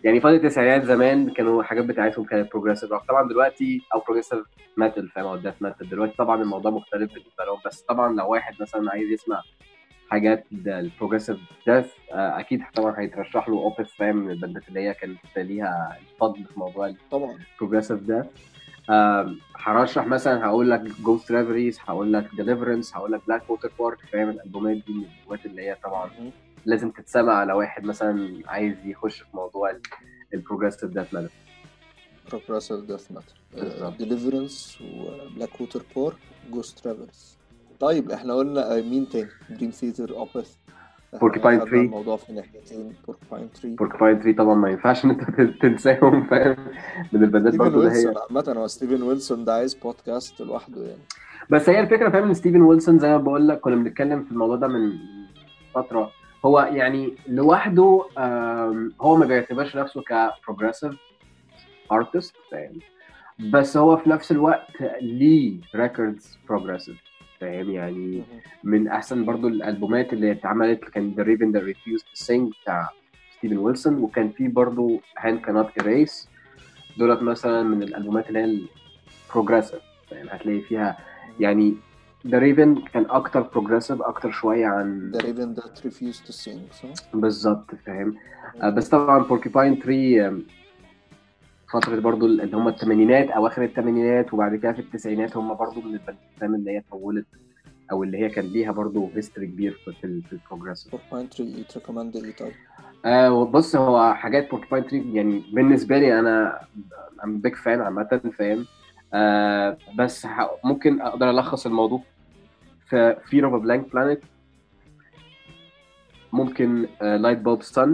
يعني فتره التسعينات زمان كانوا الحاجات بتاعتهم كانت بروجريسيف روك. طبعا دلوقتي او بروجريسيف ميتال فاهم، او ديث ميتال. دلوقتي طبعا الموضوع مختلف بالنسبه لهم. بس طبعا لو واحد مثلا عايز يسمع حاجات البروجريسيف ديث اكيد طبعا هيترشح له اوبث فاهم، من البندات اللي هي كانت ليها الفضل في موضوع طبعا. البروجريسيف ديث. هرشح مثلا، هقول لك جوست ريفريز، هقول لك ديليفرنس، هقول لك بلاك ووتر بارك فاهم. الالبومات دي من الالبومات اللي هي طبعا لازم تتسمع لو واحد مثلا عايز يخش في موضوع البروجريسيف ديث ميتال. بروجريسيف ديث ميتال، بالظبط. ديليفرنس وبلاك ووتر بورك، جوست ترافلز. طيب احنا قلنا مين تاني؟ دريم ثيتر، اوبث. احنا بوركيباين خدنا 3. الموضوع في ناحيتين. بوركباين 3. بوركيباين 3 طبعا ما ينفعش ان انت تنساهم فاهم، من البندات ستيفن برضو اللي هي. ويلسون عامة، هو ستيفن ويلسون ده عايز بودكاست لوحده يعني. بس هي الفكره فاهم ان ستيفن ويلسون زي ما بقول لك كنا بنتكلم في الموضوع ده من فتره. هو يعني لوحده هو ما بيعتبرش نفسه كبروجريسيف ارتست فاهم، بس هو في نفس الوقت ليه ريكوردز بروجريسيف فاهم يعني. من احسن برضو الالبومات اللي اتعملت كان The Raven That Refused to Sing بتاع ستيفن ويلسون، وكان في برضو Hand Cannot Erase. دولت مثلا من الالبومات اللي هي البروجريسيف فاهم، هتلاقي فيها يعني The Raven كان اكتر بروجريسيف اكتر شويه عن The Raven That Refused to Sing، صح؟ بالظبط فاهم. بس طبعا Porcupine 3 فترة برضو اللي هم الثمانينات أواخر الثمانينات، وبعد كده في التسعينات هم برضو من البندات اللي هي طولت أو اللي هي كان ليها برضو هيستوري كبير في البروجريسيف. بوركباين 3 تريكومند ايه طيب؟ بص هو حاجات بوركباين 3 يعني بالنسبة لي أنا I'm big fan عامة فاهم. بس ممكن أقدر ألخص الموضوع في Fear of a Blank Planet، ممكن Light Bulb Sun،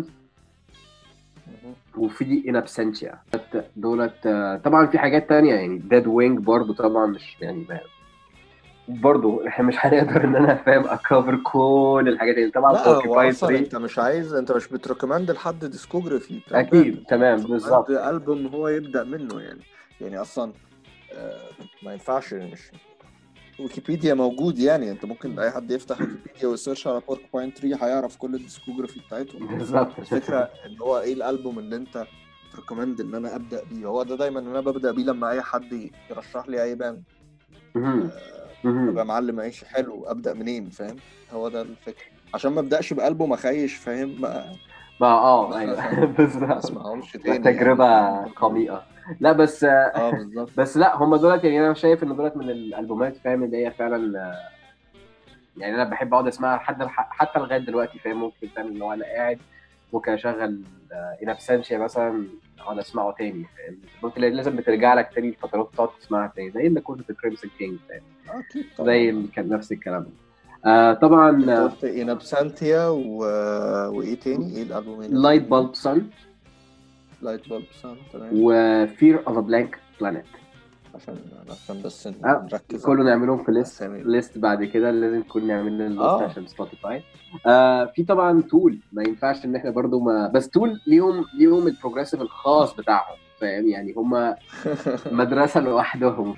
وفي In Absentia. دولت طبعا في حاجات تانية يعني Dead Wing برضو طبعا مش يعني برضو احنا مش هنقدر ان انا فاهم اكفر كل الحاجات اللي طبعا لا هو بوركيباين اصلا 3 انت مش عايز، انت مش بتريكومند لحد ديسكوجرافي بتاع الباند، اكيد انت تمام بتريكومند بالظبط. البوم هو يبدا منه يعني اصلا ما ينفعش. مش ويكيبيديا موجود يعني، انت ممكن اي حد يفتح ويكيبيديا ويسيرش على بوركباين 3 هيعرف كل الديسكوجرافي بتاعتهم. بالظبط. الفكره ان هو ايه الالبوم اللي انت تريكومند ان انا ابدا بيه. هو ده دايما انا ببدا بيه لما اي حد يرشح لي اي باند. ابقى معلم عيش حلو، ابدا منين فاهم؟ هو ده الفكره، عشان ما ابداش بألبوم اخيش فاهم. ما ايوه بالظبط. ما اسمعهمش تاني يعني تجربه فاهم. قميئه. لا بس بالظبط. بس لا هم دولت يعني انا شايف ان دولت من الالبومات فاهم اللي هي فعلا يعني انا بحب اقعد اسمعها حتى لغايه دلوقتي فاهم. ممكن فاهم ان هو انا قاعد ممكن اشغل انابسنشيا مثلا اقعد اسمعه تاني فاهم. ممكن لازم بترجع لك تاني الفترات تقعد تسمعها تاني، زي اللي كنت في كريمسون كينج فاهم، اكيد زي طبعا. اللي كان نفس الكلام. طبعا انت قلت ان ابسانتيا وايه تاني؟ ايه الالبومين لايت التانيين؟ بالب سان لايت بالب سان، تمام. وفير اوف ا بلانك بلانيت. عشان بس نركز كله على نعملهم في الاسامي. ليست بعد كده لازم كل نعمل لنا الليست اه عشان سبوتيفاي. في طبعا تول ما ينفعش ان احنا برضو ما بس تول ليهم البروجريسيف الخاص بتاعهم فاهم يعني هم مدرسه لوحدهم.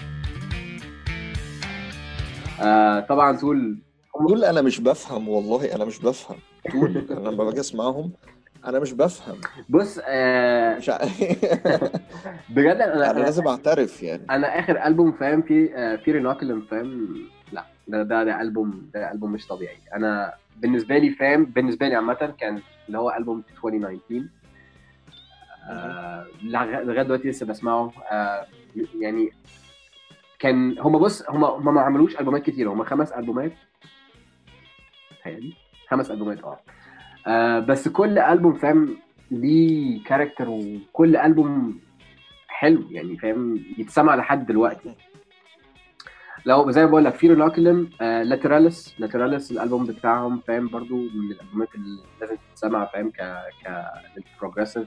طبعا تول دول انا مش بفهم والله، انا مش بفهم دول. انا لما باجي اسمعهم انا مش بفهم. بص مش ع... بجد انا لازم اعترف يعني. انا اخر البوم فاهم في ريناكلم فاهم. لا ده البوم مش طبيعي. انا بالنسبه لي فاهم، بالنسبه لي عامه كان اللي هو البوم 2019 لغايه دلوقتي لسه بسمعه. يعني كان هم ما عملوش البومات كتير، هم 5 البومات تهيألي 5 البومات بس كل البوم فاهم ليه كاركتر، وكل البوم حلو يعني فاهم يتسمع لحد دلوقتي. لو زي ما بقول لك في ريناكلم لاتراليس الالبوم بتاعهم فاهم برضو من الالبومات اللي لازم تتسمع فاهم كبروجريسيف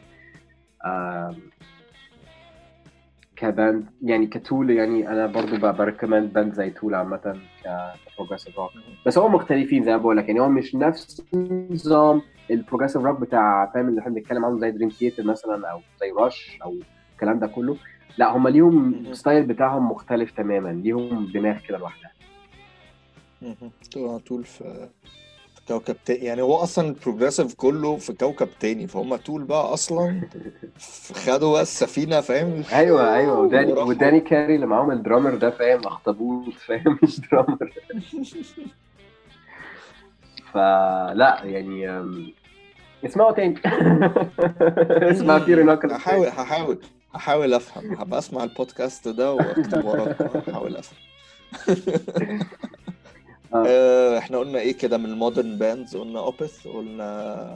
كباند يعني كتول. يعني انا برضو بريكومند باند زي تول عامه كبروجريسيف روك. بس هم مختلفين زي ما بقول لك يعني، هو مش نفس نظام البروجريسيف روك بتاع فاهم اللي احنا بنتكلم عنه زي دريم ثياتر مثلا او زي رش او الكلام ده كله. لا هم ليهم ستايل بتاعهم مختلف تماما، ليهم دماغ كده لوحدها. طول في كوكب تاني يعني، هو اصلا البروجريسيف كله في كوكب تاني، فهم طول بقى اصلا خدوا بقى السفينه فاهم ايوه وراحوا. وداني كاري اللي معاهم الدرامر ده فاهم، اخطبوط فاهم مش درامر. فلا يعني اسمعوا تاني. اسمع فيري ناكلز تاني. هحاول افهم، هبقى اسمع البودكاست ده واكتب وراك، هحاول افهم. اه احنا قلنا ايه كده من المودرن باندز؟ قلنا اوبث، قلنا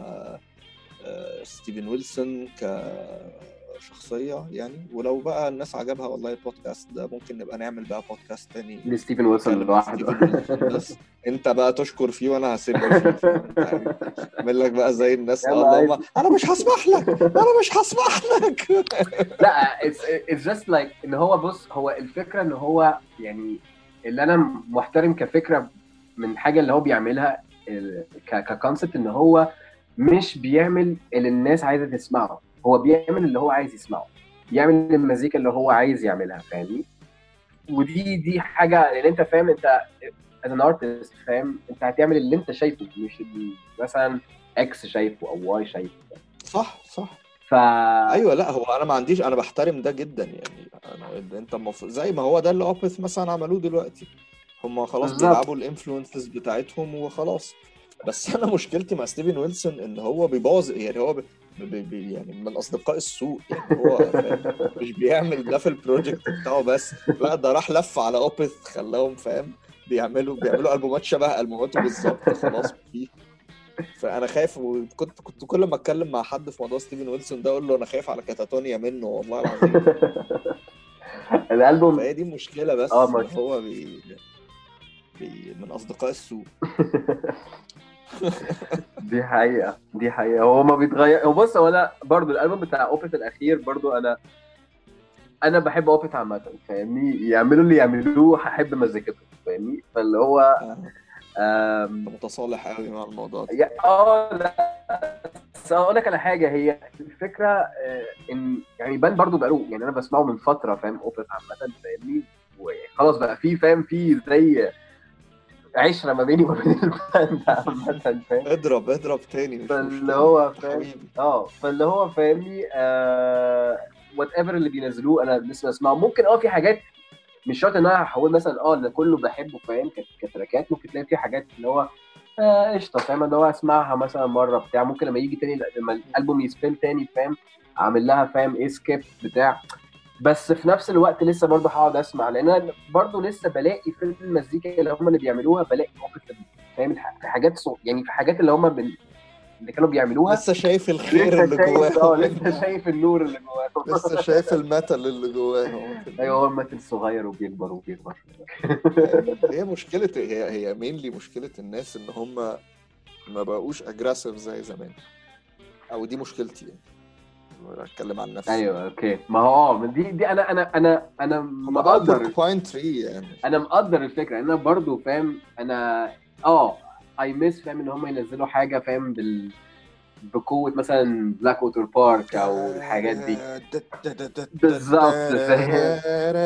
ستيفن ويلسون كشخصية يعني. ولو بقى الناس عجبها والله البودكاست ده، ممكن نبقى نعمل بقى بودكاست تاني لستيفن ويلسون نتكلم عن لوحده. ستيفن ويلسون بس. انت بقى تشكر فيه وانا هسب فيه، فاهم انت يعني؟ اعمل لك بقى زي الناس يلا اللي عادي. هم انا مش هسمح لك، انا مش هسمح لك. لا it's just like ان هو بص، هو الفكره ان هو يعني اللي انا محترم كفكره من حاجه اللي هو بيعملها ككونسبت، ان هو مش بيعمل اللي الناس عايزه تسمعه، هو بيعمل اللي هو عايز يسمعه، بيعمل المزيكا اللي هو عايز يعملها فاهمني. ودي حاجه لان انت فاهم، انت as an artist فاهم، انت هتعمل اللي انت شايفه مش اللي مثلا اكس شايفه او واي شايفه. صح ف ايوه. لا هو انا ما عنديش، انا بحترم ده جدا يعني. انت زي ما هو ده اللي اوبث مثلا عملوه دلوقتي، هم خلاص بالظبط. بيلعبوا الانفلونسز بتاعتهم وخلاص. بس انا مشكلتي مع ستيفن ويلسون ان هو بيبوظ يعني. هو يعني من اصدقاء السوء يعني. هو فاهم مش بيعمل ده في البروجكت بتاعه بس، لا ده راح لف على اوبث خلاهم فاهم بيعملوا البومات شبه البوماته بالظبط خلاص فيه. فانا خايف، وكنت كل ما اتكلم مع حد في موضوع ستيفن ويلسون ده اقول له انا خايف على كاتاتونيا منه والله العظيم. الالبوم فهي دي مشكلة، اه بس ان ماشي. هو من اصدقاء السوء. دي حقيقة هو ما بيتغير. هو بص، هو انا برضو الالبوم بتاع اوبت الاخير برضو انا بحب اوبت عامة فاهمني، يعملوا اللي يعملوه هحب مزيكتهم فاهمني. فاللي هو انت متصالح قوي مع الموضوع ده. لا بس اقول لك على حاجة، هي الفكرة ان يعني بان برضو بقاله يعني انا بسمعه من فترة فاهم، اوبت عامة فاهمني، وخلاص بقى في فاهم في زي عشرة ما بيني وما بين الباند عامة فاهم. اضرب تاني مش فاللي مشكلة هو انت فاهم حبيبي. فاللي هو فاهمني وات ايفر اللي بينزلوه انا لسه بسمعه. ممكن في حاجات مش شرط ان انا هقول مثلا اللي كله بحبه فاهم كتراكات، ممكن تلاقي في حاجات اللي هو قشطه فاهم، اللي هو اسمعها مثلا مره بتاع، ممكن لما يجي تاني لما الالبوم يسبين تاني فاهم اعمل لها فاهم ايه سكيب بتاع. بس في نفس الوقت لسه برضه هقعد اسمع، لان انا برضه لسه بلاقي في المزيكا اللي هم اللي بيعملوها بلاقي فاهم في حاجات يعني في حاجات اللي هم اللي كانوا بيعملوها لسه شايف الخير لسه اللي شايف جواهم لسه شايف النور اللي جواهم. لسه شايف المثل اللي جواهم ايوه هو المثل صغير وبيكبر وبيكبر. هي مشكلة، هي مينلي مشكلة الناس ان هم ما بقوش اجريسيف زي زمان، او دي مشكلتي يعني. اتكلم عن نفسي. ايوه اوكي، ما هو دي انا هم او مقدر. بوركوباين تري يعني. انا مقدر الفكره، انا برضو فاهم انا اي ميس فاهم ان هم ينزلوا حاجه فاهم بقوه مثلا بلاك ووتر بارك او الحاجات دي بالظبط فاهم.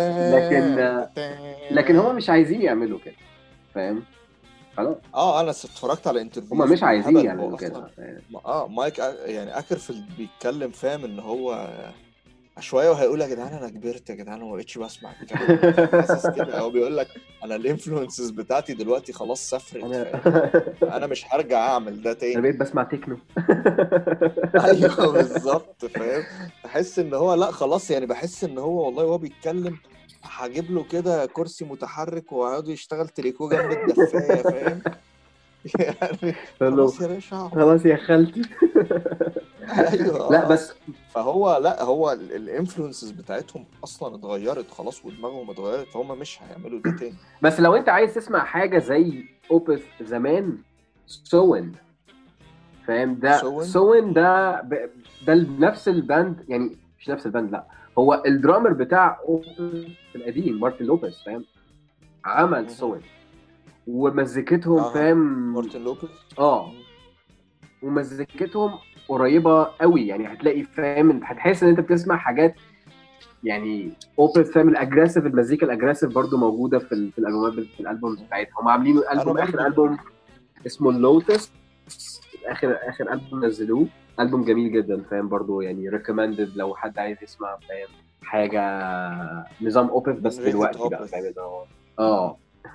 لكن هم مش عايزين يعملوا كده فاهم. خلاص انا اتفرجت على هم انترفيوز مش عايزين بالهبل. هو يعملوا اصلا كده فاهم. مايك يعني اكرفيلد بيتكلم فاهم ان هو شويه وهيقول يا جدعان انا كبرت يا جدعان وما بقتش بسمع الكلام ده، حاسس كده. هو بيقول لك انا الانفلونسز بتاعتي دلوقتي خلاص سافرت انا فاهم، فانا مش هرجع اعمل ده انا تاني. بقيت بسمع تكنو. ايوه بالظبط فاهم. تحس ان هو لا خلاص يعني، بحس ان هو والله وهو بيتكلم هجيب له كده كرسي متحرك ويقعد يشتغل تريكو جنب الدفايه فاهم. يعني قال خلاص يا باشا اقعد. خلاص يا خالتي. ايوه لا بس فهو لا هو الانفلونسز بتاعتهم اصلا اتغيرت خلاص ودماغهم اتغيرت، فهم مش هيعملوا ده تاني. بس لو انت عايز تسمع حاجه زي اوبس زمان، سوين فاهم، ده سون سوين ده نفس الباند يعني، مش نفس الباند لا، هو الدرامر بتاع اوبس القديم مارتن لوبيز فاهم عمل سوين، ومزيكتهم فاهم مارتن لوبيز. ومزيكتهم قريبه قوي يعني، هتلاقي فاهم هتحس ان انت بتسمع حاجات يعني اوبس فاهم الاجريسيف، المزيكا الاجريسيف برضو موجوده في الالبومات في الالبومز بتاعتهم. هم عاملين انا البوم اخر برضو البوم اسمه اللوتس. اخر البوم نزلوه، البوم جميل جدا فاهم، برضو يعني ريكومندد لو حد عايز يسمع فاهم حاجه نظام اوبس من بس ريحة دلوقتي بقى اوبث. فاهم اللي هو اه.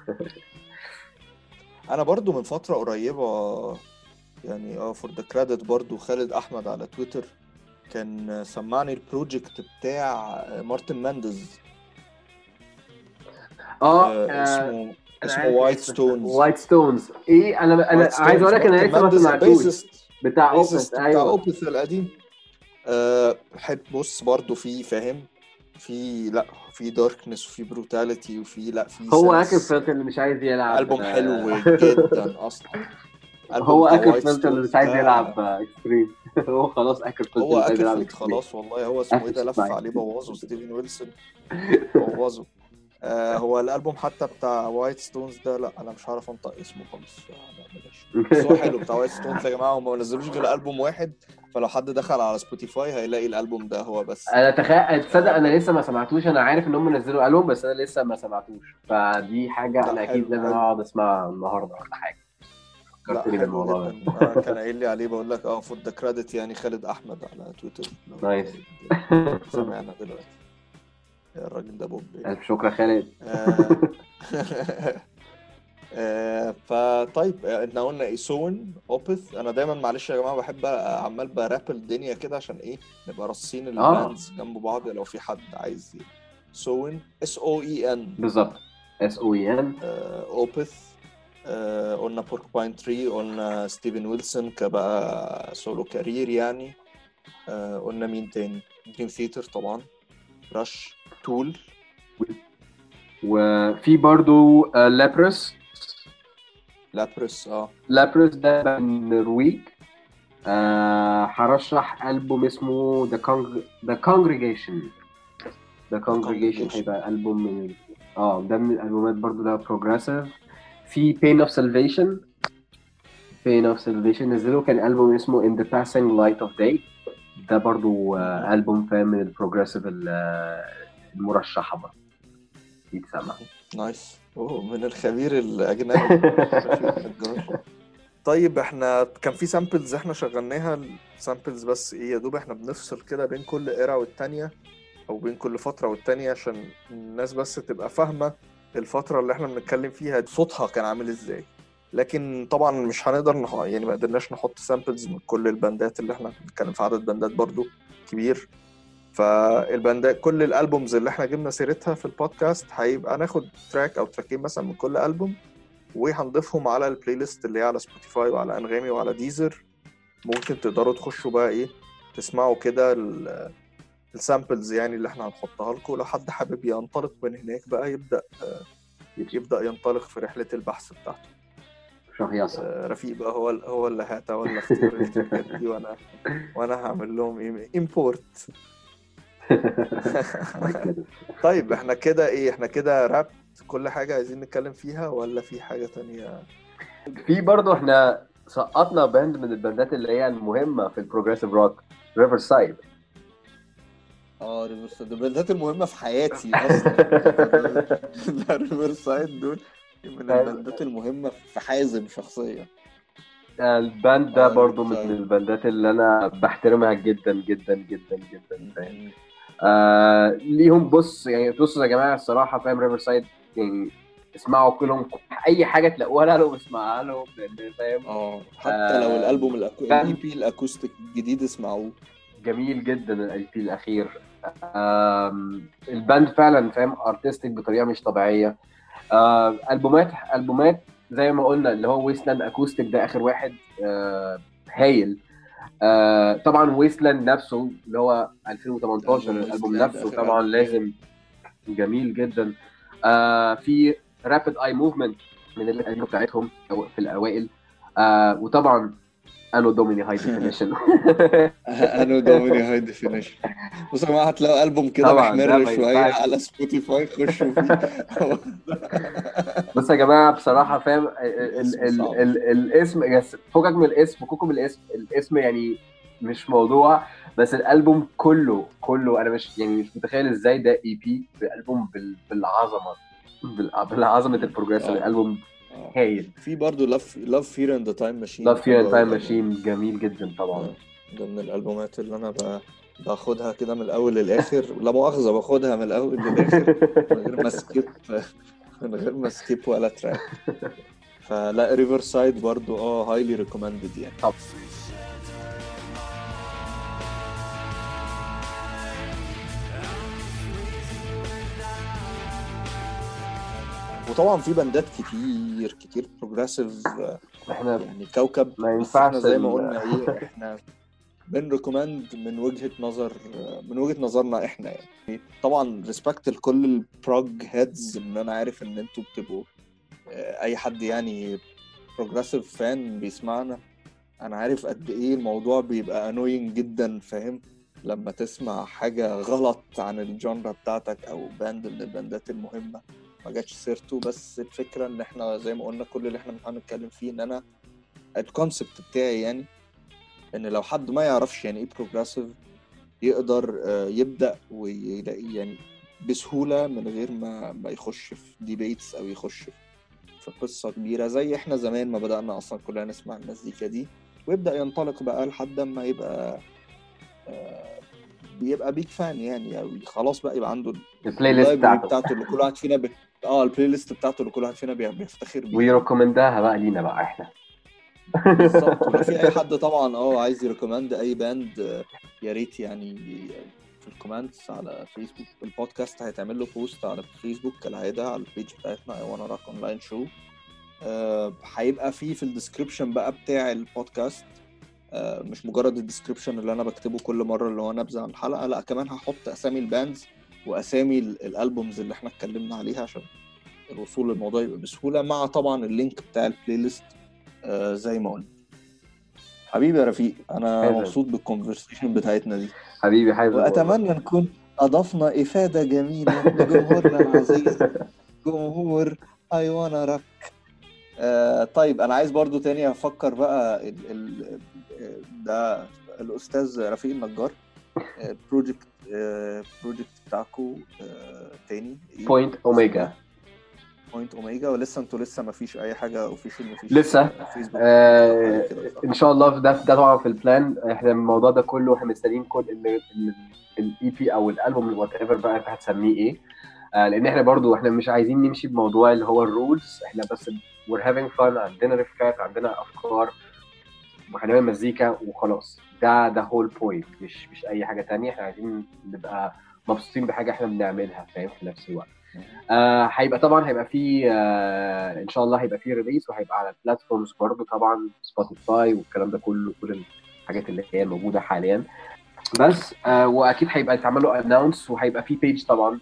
انا برضو من فترة قريبة يعني فور ذا كريدت برضو خالد احمد على تويتر كان سمعني البروجكت بتاع مارتن ماندز. اسمه انا اسمه عارف وايت الاسم ستونز. وايت ستونز. ايه انا وايت عايز اقول ستونز لك انا مارتن لسه ما ماندز سمعتوش. البيزست بتاع اوبس البيزست بتاع ايوه. اوبث القديم. حب بص برضو في فاهم في لا في داركنس وفي بروتاليتي وفي لا في هو سنس. اكرفيلد اللي مش عايز يلعب ألبوم حلو جدا اصلا. الألبوم هو بتاع وايت اكرفيلد اللي مش ستونز عايز ده. يلعب اكستريم. هو خلاص اكرفيلد هو اللي مش عايز يلعب اكرفيلد اكستريم. خلاص والله. هو اسمه ايه ده قفشت لف معايا. عليه بوظه ستيفن ويلسون بوظه. هو الالبوم حتى بتاع وايت ستونز ده لا انا مش عارف انطق اسمه خالص لا بلاش. بس هو حلو بتاع وايت ستونز يا جماعه. هم ما نزلوش غير البوم واحد فلو حد دخل على سبوتيفاي هيلاقي الالبوم ده هو بس. انا تخيل تصدق آه انا لسه ما سمعتوش. انا عارف ان هم نزلوا البوم بس انا لسه ما سمعتوش، فدي حاجه لا انا اكيد حلو لازم حلو. اقعد اسمعها النهارده ولا حاجه. لا فكرتني حلو بالموضوع ده. جدا. كان قايل لي عليه بقول لك فور ذا كريدت يعني خالد احمد على تويتر لو نايس. حد سامعنا دلوقتي. الراجل ده بوب يعني. الف شكر يا خالد. آه فطيب احنا قلنا ايه سون اوبث. انا دايما معلش يا جماعه بحب عمال براب الدنيا كده عشان ايه نبقى راصين اه الباندز جنب بعض لو في حد عايز. سون SOEN. بالظبط SOEN. اوبث. قلنا بوركباين تري قلنا ستيفن ويلسون كبقى سولو كارير يعني. قلنا مين تاني؟ دريم ثياتر طبعا. رش تول. وفي برضو لابرس. لابرس لابرس ده من النرويج. هرشح ألبوم اسمه The Congregation. The Congregation كونجريجيشن. هيبقى ألبوم من ده من الألبومات برضو ده progressive. في Pain of Salvation. Pain of Salvation نزلوا كان ألبوم اسمه In the Passing Light of Day. ده برضو ألبوم فاهم من البروجريسيف المرشحة برضو يتسمع. نايس. من الخبير الأجنبي رفيق النجار. طيب احنا كان في سامبلز احنا شغلناها السامبلز بس ايه يا دوب احنا بنفصل كده بين كل إيرا والتانية او بين كل فترة والتانية عشان الناس بس تبقى فاهمة الفترة اللي احنا بنتكلم فيها صوتها كان عامل ازاي. لكن طبعا مش هنقدر يعني ما قدرناش نحط سامبلز من كل الباندات اللي احنا بنتكلم في عدد باندات برضو كبير. فالباندات كل الالبومز اللي احنا جبنا سيرتها في البودكاست هيبقى ناخد تراك او تراكين مثلا من كل البوم وهنضيفهم على البلاي ليست اللي هي على سبوتيفاي وعلى انغامي وعلى ديزر. ممكن تقدروا تخشوا بقى ايه تسمعوا كده السامبلز يعني اللي احنا هنحطها لكم. لو حد حابب ينطلق من هناك بقى يبدأ ينطلق في رحلة البحث بتاعته. شهيصة. رفيق بقى هو اللي هيتولى اختيار التراكات دي وانا هعمل لهم امبورت. طيب احنا كده ايه احنا كده راب كل حاجة عايزين نتكلم فيها ولا في حاجة تانية؟ في برضه احنا سقطنا باند من الباندات اللي هي المهمة في البروجريسيف روك، ريفر سايد. ريفر سايد الباندات المهمة في حياتي اصلا. ريفر سايد دول من الباندات المهمة في حازم شخصيا. الباند ده برضه من ريفر الباندات اللي انا بحترمها جدا جدا جدا جدا فاهم. سايد ليهم بص يعني بصوا يا جماعه الصراحه فاهم ريفر سايد يعني اسمعوا كلهم اي حاجه تلاقوها لهم اسمعها لهم لان فاهم. حتى لو الالبوم الاي باند بي الاكوستيك الجديد اسمعوه. جميل جدا الاي بي الاخير. الباند فعلا فاهم ارتستيك بطريقه مش طبيعيه. البومات زي ما قلنا اللي هو ويستلاند اكوستيك ده اخر واحد هايل. طبعا ويستلاند نفسه اللي هو 2018 الالبوم نفسه طبعا لازم جميل جدا. في رابيد اي موفمنت من الالبوم بتاعتهم في الاوائل. وطبعا انو دوميني هاي ديفينيشن. انو دوميني هاي ديفينيشن. بصوا يا جماعه هتلاقوا البوم كده طبعا ده محمر ما شويه ينفعش. على سبوتيفاي خشوا فيه. بص يا جماعه بصراحه فاهم الاسم صعب. الاسم فوقك من الاسم فوقكم الاسم يعني مش موضوع. بس الالبوم كله انا مش متخيل ازاي ده اي بي بالالبوم بالعظمه بالعظمه البروجريسيف الالبوم هايل. في برضو Love Fear and the Time Machine. Love Fear and Time Machine جميل جدا طبعا. ده من الالبومات اللي انا باخدها كده من الاول للاخر، لا مؤاخذه باخدها من الاول للاخر من غير ما سكيب ولا تراك. فلا ريفرسايد برضو هايلي ريكومندد يعني. طب وطبعا في باندات كتير بروجريسيف، احنا يعني كوكب. ما بس ينفعش احنا زي ما قلنا احنا بنريكومند من وجهة نظرنا احنا يعني. طبعا ريسبكت لكل البروج هيدز، ان انا عارف ان انتوا بتبقوا اي حد يعني بروجريسيف فان بيسمعنا، انا عارف قد ايه الموضوع بيبقى انوينج جدا، فاهم؟ لما تسمع حاجة غلط عن الجانرا بتاعتك او باند من الباندات المهمة ما جاتش سيرته. بس الفكرة ان احنا زي ما قلنا كل اللي احنا بنتكلم فيه ان انا الكونسبت بتاعي يعني ان لو حد ما يعرفش يعني ايه بروجريسيف يقدر يبدأ ويلاقي يعني بسهولة من غير ما يخش في ديبيتس او يخش في قصة كبيرة زي احنا زمان ما بدأنا اصلا كلنا نسمع المزيكا دي، ويبدأ ينطلق بقى لحد ما يبقى بيبقى بيك فان يعني، او خلاص بقى يبقى عنده البلاي ليست بتاعته اللي كل واحد فينا البلاي ليست بتاعته اللي كل واحد فينا بيفتخر بيها ويريكومندها بقى لينا بقى احنا. بالظبط. ولو في اي حد طبعا عايز يريكومند اي باند يا ريت يعني في الكومنتس على فيسبوك. البودكاست هيتعمل له بوست على فيسبوك كالعاده على البيج بتاعتنا I wanna rock online show. هيبقى في الديسكريبشن بقى بتاع البودكاست، مش مجرد الديسكريبشن اللي انا بكتبه كل مره اللي هو نبذه عن الحلقه، لا كمان هحط اسامي الباندز واسامي الالبومز اللي احنا اتكلمنا عليها عشان الوصول للموضوع يبقى بسهوله، مع طبعا اللينك بتاع البلاي ليست زي ما قلنا. حبيبي يا رفيق، انا مبسوط بالكونفرسيشن بتاعتنا دي حبيبي حازم، واتمنى نكون اضفنا افاده جميله لجمهورنا العزيز جمهور I wanna rock. طيب انا عايز برضو تاني افكر بقى ده الاستاذ رفيق النجار بروجكت بتاعكو تاني بوينت اوميجا. ولسه انتوا ما فيش اي حاجه اوفيشال؟ مفيش لسه فيسبوك ان شاء الله. ده طبعا في البلان. احنا الموضوع ده كله احنا مستنيين كل الاي بي او الالبوم وات ايفر بقى انت هتسميه ايه، لان احنا برضو احنا مش عايزين نمشي بموضوع اللي هو الرولز. احنا بس we're having fun، عندنا ريفكات، عندنا افكار، وهنعمل مزيكا وخلاص. ده هول بوينت، مش اي حاجه تانية. احنا عايزين نبقى مبسوطين بحاجه احنا بنعملها، فاهم؟ في نفس الوقت هيبقى طبعا هيبقى فيه ان شاء الله هيبقى فيه ريليس، وهيبقى على البلاتفورمز برضو طبعا سبوتيفاي والكلام ده كله، كل الحاجات اللي هي موجوده حاليا. بس واكيد هيبقى يتعمل له اناونس، وهيبقى فيه بيج طبعا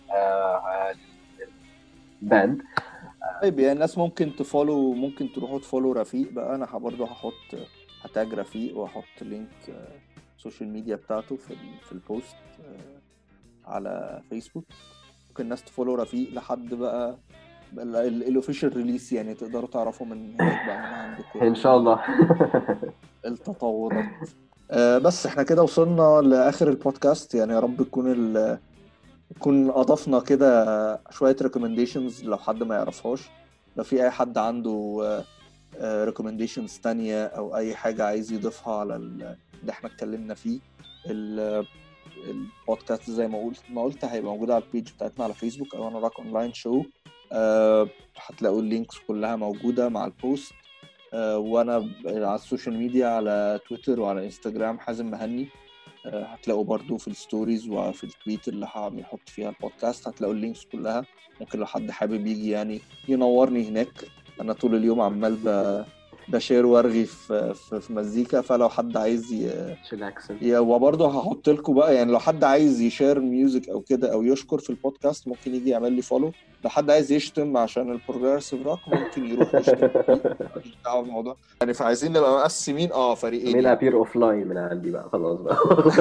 باند. طيب يعني الناس ممكن تفولو، ممكن تروحوا تفولو رفيق بقى. انا برضه هتاج رفيق واحط لينك السوشيال ميديا بتاعته في البوست على فيسبوك. ممكن الناس تفولو رفيق لحد بقى الاوفيشال ريليس، يعني تقدروا تعرفوا من هناك بقى من عندكم ان شاء الله التطورات. بس احنا كده وصلنا لاخر البودكاست، يعني يا رب يكون اضفنا كده شويه ريكومنديشنز لو حد ما يعرفهاش. لو في اي حد عنده ريكومنديشنز تانية او اي حاجه عايز يضيفها على اللي احنا اتكلمنا فيه، البودكاست زي ما قلت هيبقى موجود على البيج بتاعتنا على فيسبوك I wanna rock online show. هتلاقوا اللينكس كلها موجوده مع البوست. وانا على السوشيال ميديا على تويتر وعلى انستجرام حازم مهني. هتلاقوا برضو في الستوريز وفي التويت اللي هنحط فيها البودكاست هتلاقوا اللينكس كلها. ممكن لو حد حابب يجي يعني ينورني هناك، انا طول اليوم عمال بشير وارغي في مزيكا. فلو حد عايز وبرضه هحط لكم بقى يعني لو حد عايز يشير ميوزك او كده او يشكر في البودكاست ممكن يجي يعمل لي فولو. لو حد عايز يشتم عشان البروجريسيف روك ممكن يروح يشتم. مش دعوه بالموضوع يعني. فعايزين نبقى مقسمين فريقين. مين ابير اوف لاين من عندي بقى خلاص بقى.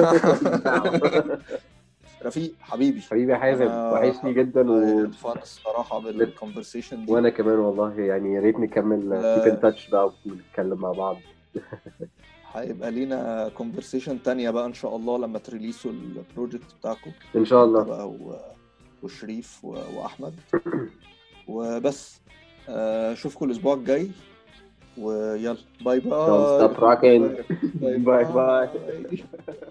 رفيق حبيبي حازم، وحشني جدا فان الصراحه بالكونفرسيشن دي. وانا كمان والله يعني يا ريت نكمل كيب ان تاتش بقى ونتكلم مع بعض. هيبقى لينا كونفرسيشن تانية بقى ان شاء الله لما تريليسوا البروجكت بتاعكم ان شاء الله بقى وشريف واحمد. وبس اشوفكم الاسبوع الجاي، ويلا باي Don't باي. stop rocking. باي باي باي. باي.